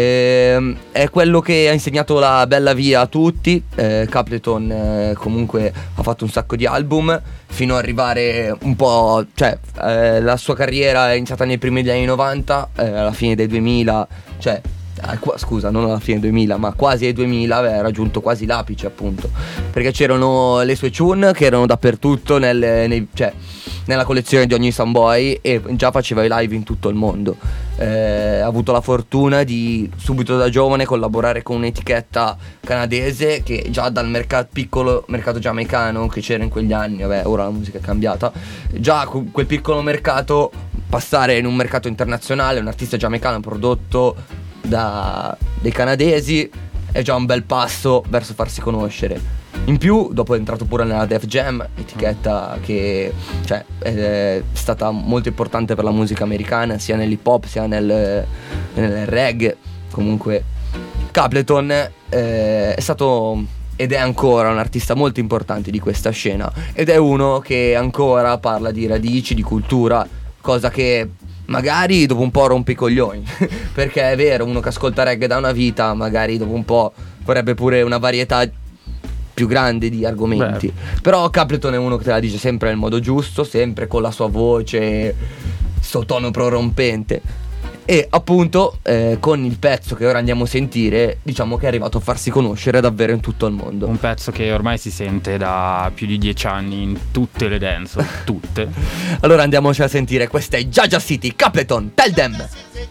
è quello che ha insegnato la bella via a tutti. Capleton comunque ha fatto un sacco di album fino ad arrivare un po', cioè la sua carriera è iniziata nei primi degli anni 90, alla fine dei 2000, cioè scusa, non alla fine 2000 ma quasi ai 2000 aveva raggiunto quasi l'apice, appunto perché c'erano le sue tune che erano dappertutto nella collezione di ogni Samboy e già faceva i live in tutto il mondo. Ha avuto la fortuna di subito da giovane collaborare con un'etichetta canadese che già dal piccolo mercato giamaicano che c'era in quegli anni, vabbè ora la musica è cambiata, già quel piccolo mercato passare in un mercato internazionale, un artista giamaicano prodotto dei canadesi è già un bel passo verso farsi conoscere. In più dopo è entrato pure nella Def Jam, etichetta che è stata molto importante per la musica americana, sia nell'hip hop sia nel reggae. Comunque Capleton è stato ed è ancora un artista molto importante di questa scena ed è uno che ancora parla di radici, di cultura, cosa che magari dopo un po' rompe i coglioni perché è vero, uno che ascolta reggae da una vita magari dopo un po' vorrebbe pure una varietà più grande di argomenti. Però Capleton è uno che te la dice sempre nel modo giusto, sempre con la sua voce, sto tono prorompente. E appunto con il pezzo che ora andiamo a sentire, diciamo che è arrivato a farsi conoscere davvero in tutto il mondo. Un pezzo che ormai si sente da più di 10 anni in tutte le dance, tutte. Allora andiamoci a sentire, questa è Jaja City, Capleton, Tell Them.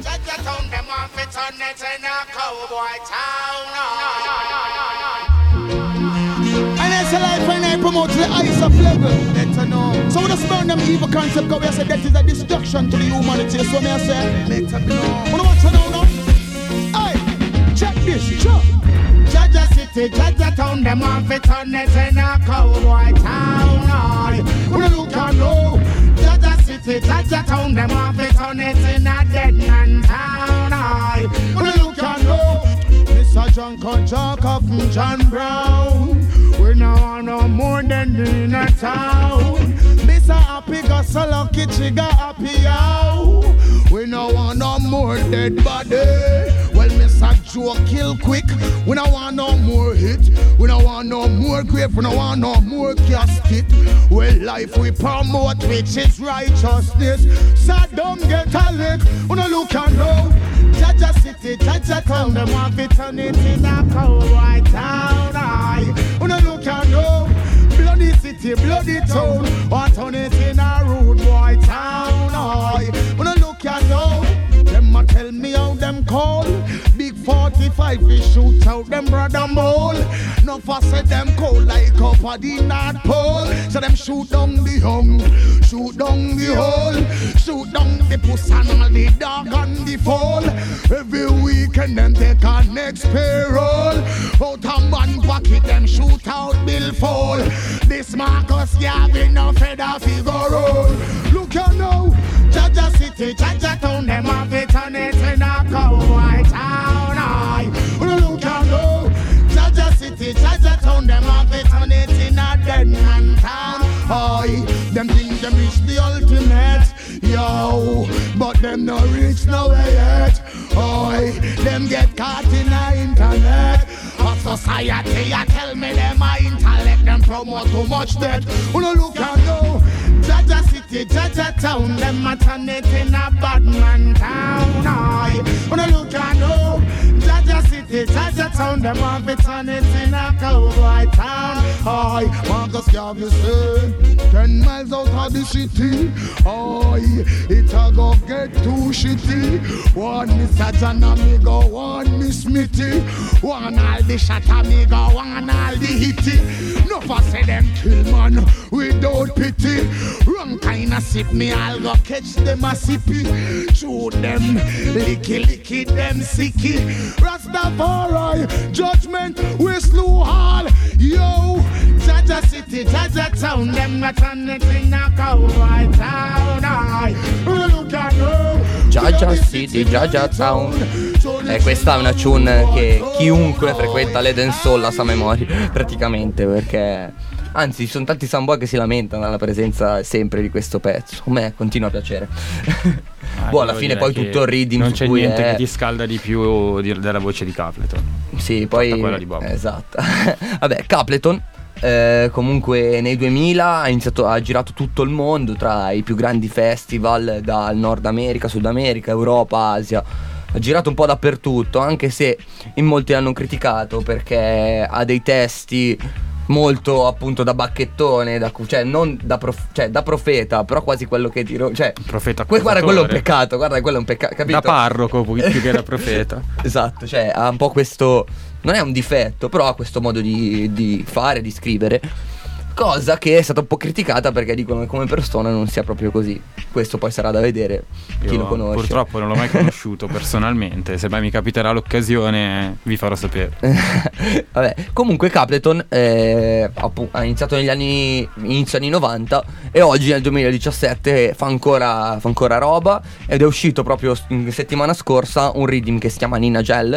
And it's a life when I promote the ice of level. Better know. So we just burn them evil concept, because we say that is a destruction to the humanity. So me I say, better know. Wanna watch it now? Hey, check this, check. Jaja City, Jaja Town, them want to turn it in a cowboy town. Aye, wanna look and know. Jaja City, Jaja Town, them want to turn it in a dead man town. Aye, wanna look and know. Mr. John Conchaka from John Brown. We now want no more than in a town. Mr. Happy got so lucky, she got happy out. We now want no more dead body. Well, Mr. Joe kill quick. We don't want no more hit. We don't want no more grave. We don't want no more casket. Well, life we promote, which is righteousness. Saddam get a lick. We don't look and know. Jaja City, Jaja Town, them want to turn it in a cowboy town. Aye, we don't look and know. Bloody city, bloody town, want turn it in a rude boy town. Aye, we don't look and know. Them a tell me how them call. Big 45 we shoot out them brother mole. No fuss at them cold like up at the North Pole. So them shoot down the hung, shoot down the hole, shoot down the puss and all the dog and the fall. Every weekend them take a next payroll. Out a man pocket them shoot out bill fall. This Marcus Garvey no feather figure roll. Look you now, Jaja City, Jaja Town, them have it on it in a cowboy town. Aye, look you know, Jaja City, Jaja Town, them have it on it in a dead man town. Aye, them think them reach the ultimate, yo, but them no reach nowhere yet. Aye, them get caught in the internet. A society, I tell me them a intellect, them promote too much dead. Look and know, Jaja City, Jaja Town, them a turn it in a bad man town. Aye, look and know, Jaja City, Jaja Town, them want to turn it in a cowboy town. Aye, Marcus Garvey say, 10 miles out of the city. Aye, it a go get too shitty. One Mr. John amigo, one Miss Smithy. One all the shot amigo, one all the hitty. No for say them kill man without pity. Wrong kind of sip me, I'll go catch them a sippy. Shoot them, licky them sicky. Rastafari, judgment, we slew all. Yo, Jaja City, Jaja Town, them not on it in a cowboy town. Look at you, Jaja City, Jaja Town. Questa è una tune che chiunque frequenta le dancehall la sa a memoria, praticamente, perché anzi ci sono tanti samboy che si lamentano alla presenza sempre di questo pezzo. A me continua a piacere. Boh, alla fine poi tutto il rhythm non su c'è cui niente è... che ti scalda di più della voce di Capleton. Sì, poi quella di Bob. Esatto. Vabbè, Capleton comunque nei 2000 ha girato tutto il mondo tra i più grandi festival, dal Nord America, Sud America, Europa, Asia. Ha girato un po' dappertutto, anche se in molti l'hanno criticato perché ha dei testi molto appunto da bacchettone, cioè non da, da profeta, però quasi quello che dirò, cioè profeta. Guarda, quello è un peccato, guarda, quello è un peccato, capito? Da parroco più che da profeta. Esatto, cioè ha un po' questo, non è un difetto, però ha questo modo di fare, di scrivere, cosa che è stata un po' criticata perché dicono che come persona non sia proprio così. Questo poi sarà da vedere chi lo conosce. Purtroppo non l'ho mai conosciuto personalmente. Se mai mi capiterà l'occasione vi farò sapere. Vabbè, comunque Capleton ha iniziato negli inizio anni 90 e oggi nel 2017 fa ancora roba, ed è uscito proprio settimana scorsa un rhythm che si chiama Nina Gel,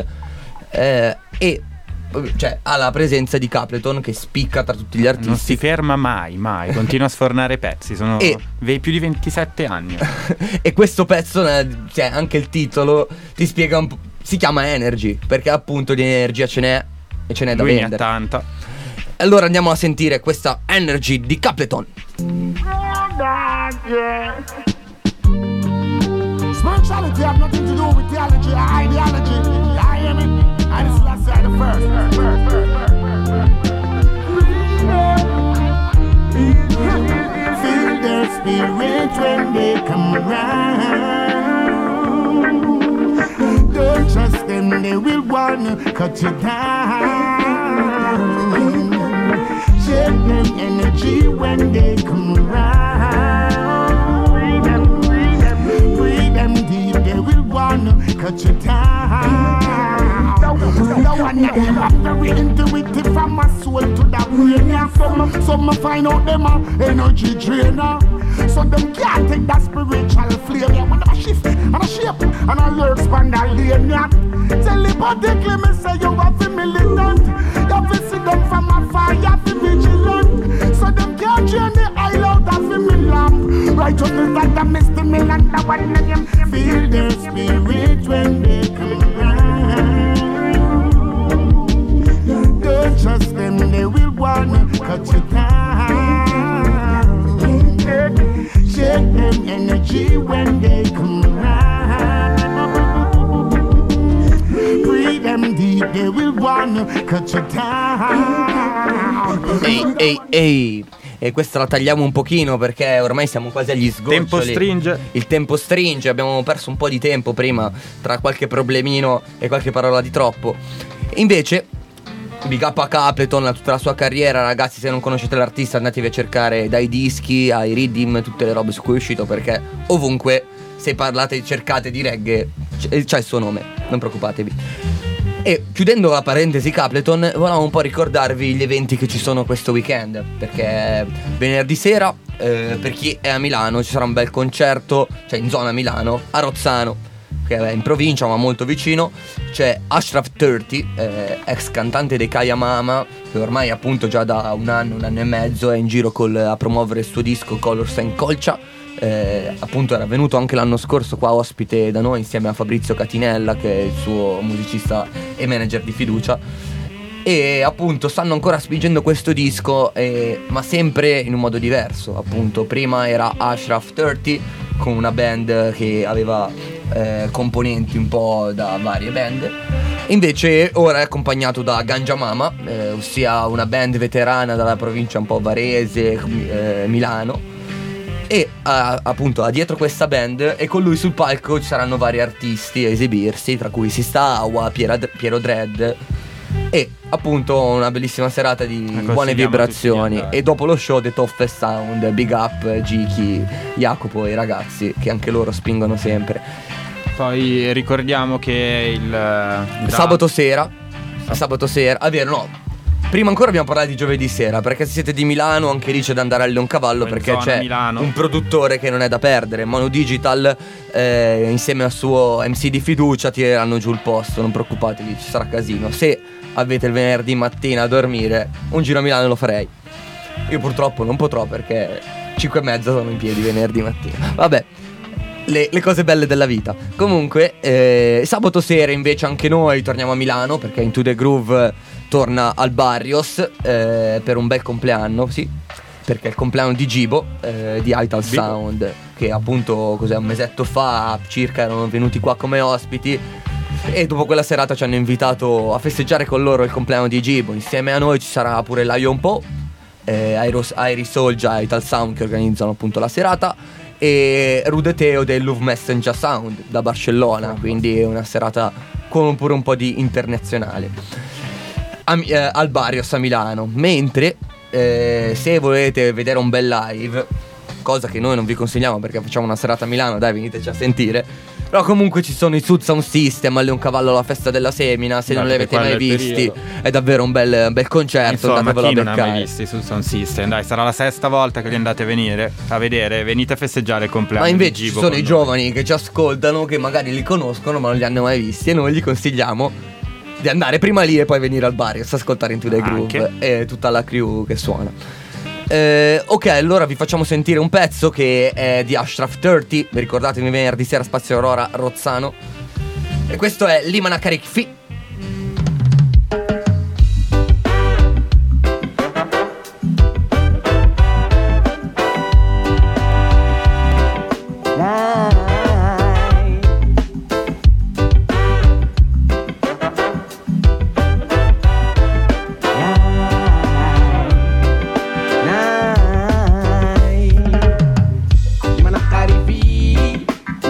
e cioè ha la presenza di Capleton che spicca tra tutti gli artisti. Non si ferma mai, continua a sfornare pezzi. Sono più di 27 anni. E questo pezzo, cioè anche il titolo ti spiega un po'. Si chiama Energy perché appunto di energia ce n'è, e ce n'è da vendere. Ne ha tanta. Allora andiamo a sentire questa Energy di Capleton. Spirituality have nothing to do with theology or ideology. You hear me? And it's last side the first. Feel their spirit when they come around. Don't trust them, they will wanna cut you down. Shake them energy when they come around. Breathe them deep, they will wanna cut you down. The one that I'm very intuitive from my soul to the brain. Yeah, some find out them a energy drainer. So them can't take that spiritual flame. Yeah, when I shift and I shape and I learn span that lane. Yeah, telepathically me say you have to militant. You have to see them from afar, you have to vigilant. So them can't drain the oil out of me lamp. Righteousness like the misty mill, the one name. Feel their spirit when they come around. Don't trust them, they will wanna cut you down. Shake them energy when they come around. Breathe them deep, they will wanna cut you down. Ehi. E questa la tagliamo un pochino perché ormai siamo quasi agli sgoccioli. Il tempo stringe, abbiamo perso un po' di tempo prima tra qualche problemino e qualche parola di troppo. Invece big up a Capleton, a tutta la sua carriera. Ragazzi, se non conoscete l'artista andatevi a cercare dai dischi ai rhythm, tutte le robe su cui è uscito, perché ovunque se parlate, cercate di reggae c'è il suo nome, non preoccupatevi. E chiudendo la parentesi Capleton, volevamo un po' ricordarvi gli eventi che ci sono questo weekend, perché venerdì sera per chi è a Milano ci sarà un bel concerto, cioè in zona Milano, a Rozzano, che è in provincia ma molto vicino. C'è Ashraf 30, ex cantante dei Kaya Mama, che ormai appunto già da un anno e mezzo è in giro a promuovere il suo disco Colors and Colcha. Appunto era venuto anche l'anno scorso qua ospite da noi insieme a Fabrizio Catinella, che è il suo musicista e manager di fiducia. E appunto stanno ancora spingendo questo disco, ma sempre in un modo diverso. Appunto prima era Ashraf 30 con una band che aveva componenti un po' da varie band. Invece ora è accompagnato da Ganja Mama, ossia una band veterana dalla provincia un po' Varese, Milano. E appunto dietro questa band e con lui sul palco ci saranno vari artisti a esibirsi, tra cui Sista Awa, Piero Dread. E appunto una bellissima serata di buone vibrazioni. E dopo lo show The Toughest Sound, big up Giki, Jacopo e i ragazzi che anche loro spingono sempre. Poi ricordiamo che il sabato sera, vero, no, prima ancora abbiamo parlato di giovedì sera, perché se siete di Milano anche lì c'è da andare a Leoncavallo, perché c'è Milano un produttore che non è da perdere, Mono Digital, insieme al suo MC di fiducia tireranno giù il posto, non preoccupatevi, ci sarà casino. Se avete il venerdì mattina a dormire, un giro a Milano lo farei. Io purtroppo non potrò perché 5:30 sono in piedi venerdì mattina. Vabbè, le cose belle della vita. Comunque sabato sera invece anche noi torniamo a Milano, perché Into the Groove torna al Barrios per un bel compleanno, sì, perché è il compleanno di Gibo, di Ital Sound, che appunto un mesetto fa circa erano venuti qua come ospiti. E dopo quella serata ci hanno invitato a festeggiare con loro il compleanno di Gibo. Insieme a noi ci sarà pure Lion Po, Iris Soldier e Ital Sound che organizzano appunto la serata, e Rude Teo del Love Messenger Sound da Barcellona, quindi è una serata con pure un po' di internazionale al Barrios a Milano. Mentre se volete vedere un bel live, cosa che noi non vi consigliamo perché facciamo una serata a Milano, dai, veniteci a sentire. Però comunque ci sono i Sud Sound System a Leoncavallo alla festa della semina. Se non li avete mai visti, è davvero un bel concerto. Insomma, chi non ha mai visti i Sud Sound System? Dai, sarà la sesta volta che li andate a vedere. Venite a festeggiare il compleanno. Ma invece ci sono i giovani che ci ascoltano, che magari li conoscono ma non li hanno mai visti, e noi gli consigliamo di andare prima lì e poi venire al bar e ascoltare Into the Groove e tutta la crew che suona. Ok, allora vi facciamo sentire un pezzo che è di Ashraf 30. Vi ricordatevi venerdì sera Spazio Aurora Rozzano. E questo è Limana Karikfi.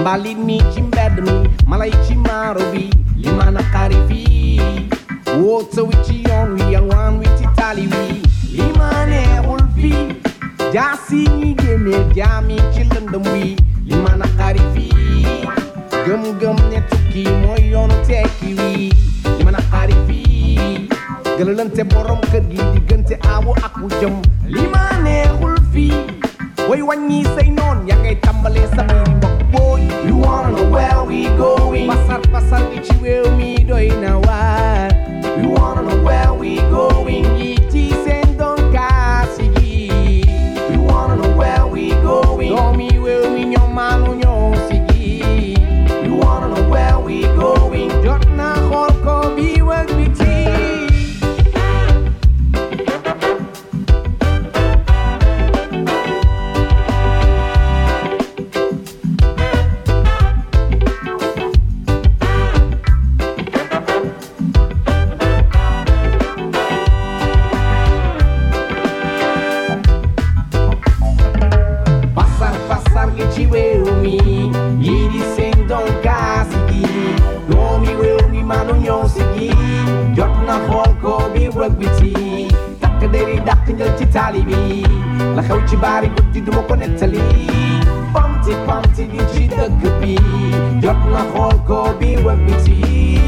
Mbalini chimbedmi, malaichi marobi, limana karifi. Water with only and one with Italy. Limane ulfi, jasi ni geme, jami chilendami, limana karifi. Gum gum netuki, moyon tekiwi, limana karifi. Galante borom kergi, digante awo aku jam, limane ulfi. Way when you say non, yangay tambale sa miri boy. You wanna know where we going? Pasar ichi will me doy na what? You wanna know where we going? Iti sendon kasigi. You wanna know where we going? Domi will me nyo manu nyo sigi. You wanna know where we going? Jot na holko bi wag biti. Talibi, la xew ci bari guddi duma ko nettali. Pamti pamti di ci dëkk bi, jot na xool ko bi wëg biti.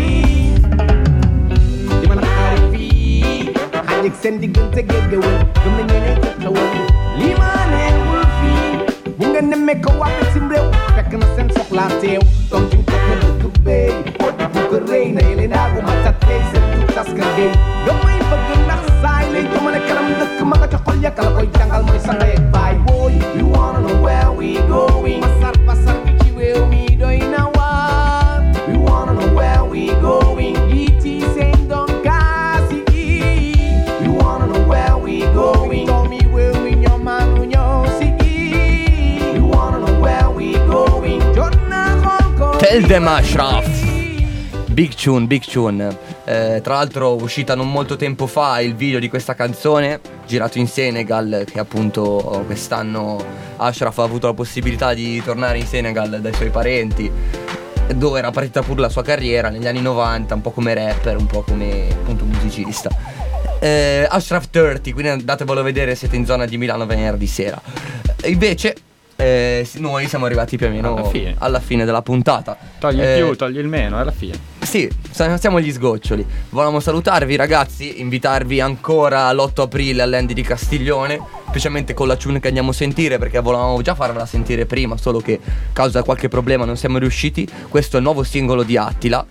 Di ma naqaari fii, xaaj ak seen diggante géggewal, gëm na ñeneen jëkkawal. Lii ma neexul fii, bu nga nemmee ko waa bitim réew, fekk na seen soxlaa teew. Doom ci ko na dëkk bey, oo di bu ko rëy na yële daagu ma tattey seen tut taska gay. Gamay bëgg ndax saay lay jëmale kanam dëkk ma nga ca xol ya kala koy jàngal mooy sa ndey ak baay boy. You wanna know where we going? Pasar bi ci réew mi doy na waar. You wanna know where we going? Iti seen doon kaasi gi. You wanna know where we going? Doomi réew mi ñoo maanu ñoo si gi. You wanna know where we going? Jot na xool ko. Tell them Ashraf. Big tune. Tra l'altro uscita non molto tempo fa il video di questa canzone, girato in Senegal, che appunto quest'anno Ashraf ha avuto la possibilità di tornare in Senegal dai suoi parenti, dove era partita pure la sua carriera negli anni 90, un po' come rapper, un po' come appunto musicista. Ashraf 30, quindi andatevelo a vedere, siete in zona di Milano venerdì sera. Invece noi siamo arrivati più o meno alla fine della puntata. Togli il più, togli il meno, alla fine. Sì, siamo agli sgoccioli. Volevamo salutarvi ragazzi, invitarvi ancora l'8 aprile all'Andy di Castiglione, specialmente con la tune che andiamo a sentire, perché volevamo già farvela sentire prima, solo che a causa di qualche problema non siamo riusciti. Questo è il nuovo singolo di Attila,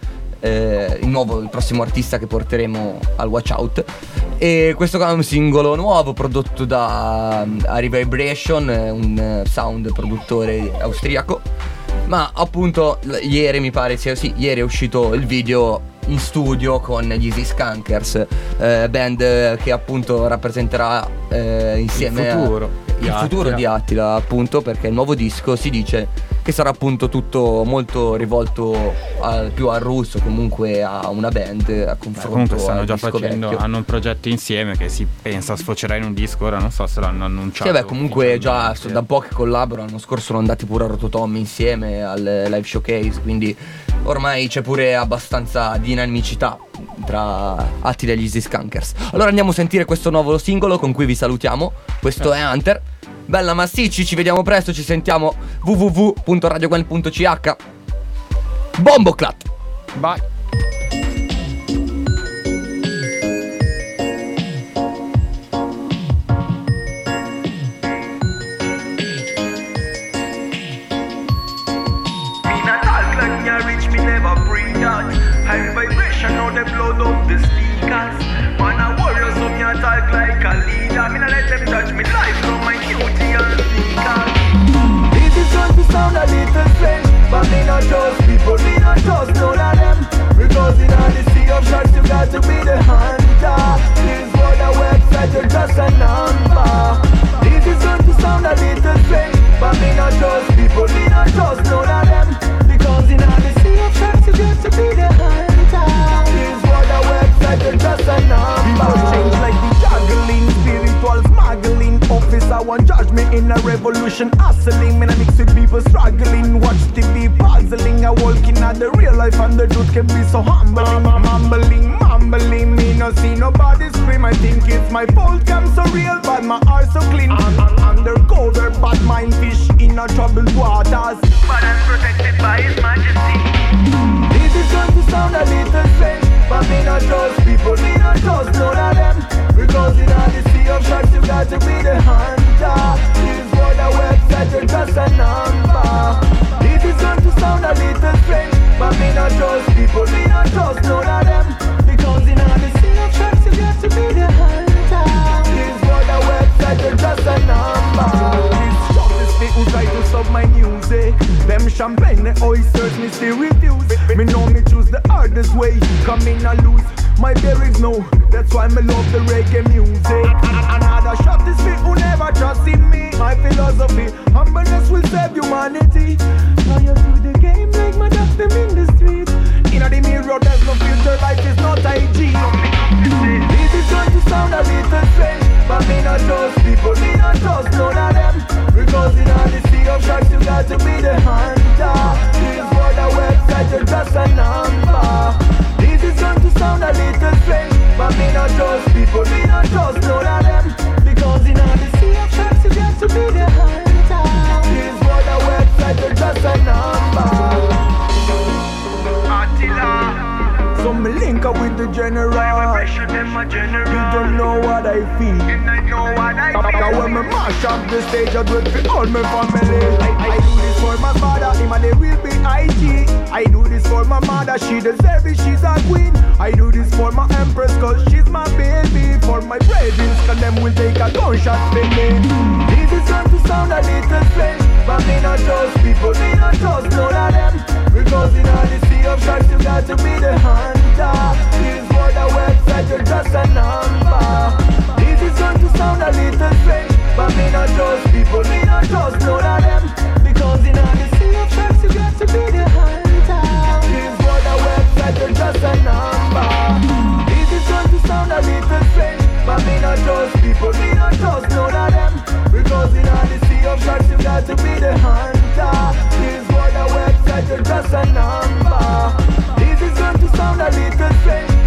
il prossimo artista che porteremo al Watch Out. E questo è un singolo nuovo prodotto da Ari Vibration, un sound produttore austriaco. Ma appunto ieri mi pare ieri è uscito il video in studio con gli Easy Skunkers, band che appunto rappresenterà insieme il futuro di Attila, appunto, perché il nuovo disco si dice che sarà appunto tutto molto rivolto più al russo, comunque a una band, a confronto. Comunque stanno già facendo, hanno un progetto insieme che si pensa sfocerà in un disco, ora non so se l'hanno annunciato. Sì, beh, comunque già da un po' che collaborano, l'anno scorso sono andati pure a Rototommy insieme al live showcase, quindi ormai c'è pure abbastanza dinamicità tra Attila e gli Easy Skunkers. Allora andiamo a sentire questo nuovo singolo con cui vi salutiamo. Questo è Hunter. Bella massicci, ci vediamo presto, ci sentiamo www.radiogwen.ch. Bomboclat. Bye. High vibration on the blood of the speakers. Man a warrior, so me a talk like a leader. Me not let them touch me life from my duty and sneakers. This is going to sound a little strange, but me not trust people, me not trust none of them. Because in all the sea of sharks you got to be the hunter. This for the website, you're just a number. This is going to sound a little strange, but me not trust people, me not trust none of them. Because in all the sea of sharks you got to be the hunter. This for the website, you're just a number. People change like the juggling, spiritual smuggling. life and the truth can be so humbling. Mumbling, me no see nobody scream. I think it's my fault, I'm so real, but my heart so clean. Undercover, bad mind fish in a troubled waters, but I'm protected by His Majesty. This is going to sound a little strange, but me not trust people, me not trust none of them. Because in all the sea of sharks you got to be the hunter. This for the website, you're just a number. This is going to sound a little strange, but me not trust people, me not trust none of them. Because in all the sea of sharks you got to be the hunter. This for the website, you're just a number. This shop is fit who try to stop my music. Them champagne, the oysters, me still refuse. Me know me choose the hardest way, come in and lose. My berries know, that's why me love the reggae music. Another shot is fit who never trust in me. My philosophy, humbleness will save humanity. Loyal to the game like my dogs them in the street. In the mirror there's no filter, life is not IG. This is going to sound a little strange, but me not trust people, me not trust none of them. Because in all the sea of sharks you got to be the hunter. This for the website, you're just a number. This is going to sound a little strange, but me not trust people, me not trust none of them. Because in all the sea of sharks you got to be the hunter. This for the website, you're just a number. Attila, so me link up with the general. You don't know what I feel. Now when me mash up the stage, I do it for all my family. I do this for my father, him and they will be IG. I do this for my mother, she deserves it, she's a queen. I do this for my empress, cause she's my baby. For my brethren, cause them will take a gunshot for me. This is going to sound a little strange, but me not trust people, me not trust none of them. Because in all the sea of sharks you got to be the hunter. This for the website, you're just a number. This is going to sound a little strange, but me not trust people, me not trust none of them. Because in all the sea of sharks you got to be the hunter. This for the website, you're just a number. This is going to sound a little strange, but me not trust people, me not trust none of them. Because in all the sea of sharks you got to be the hunter. This for the website, you're just a number. This is going to sound a little strange,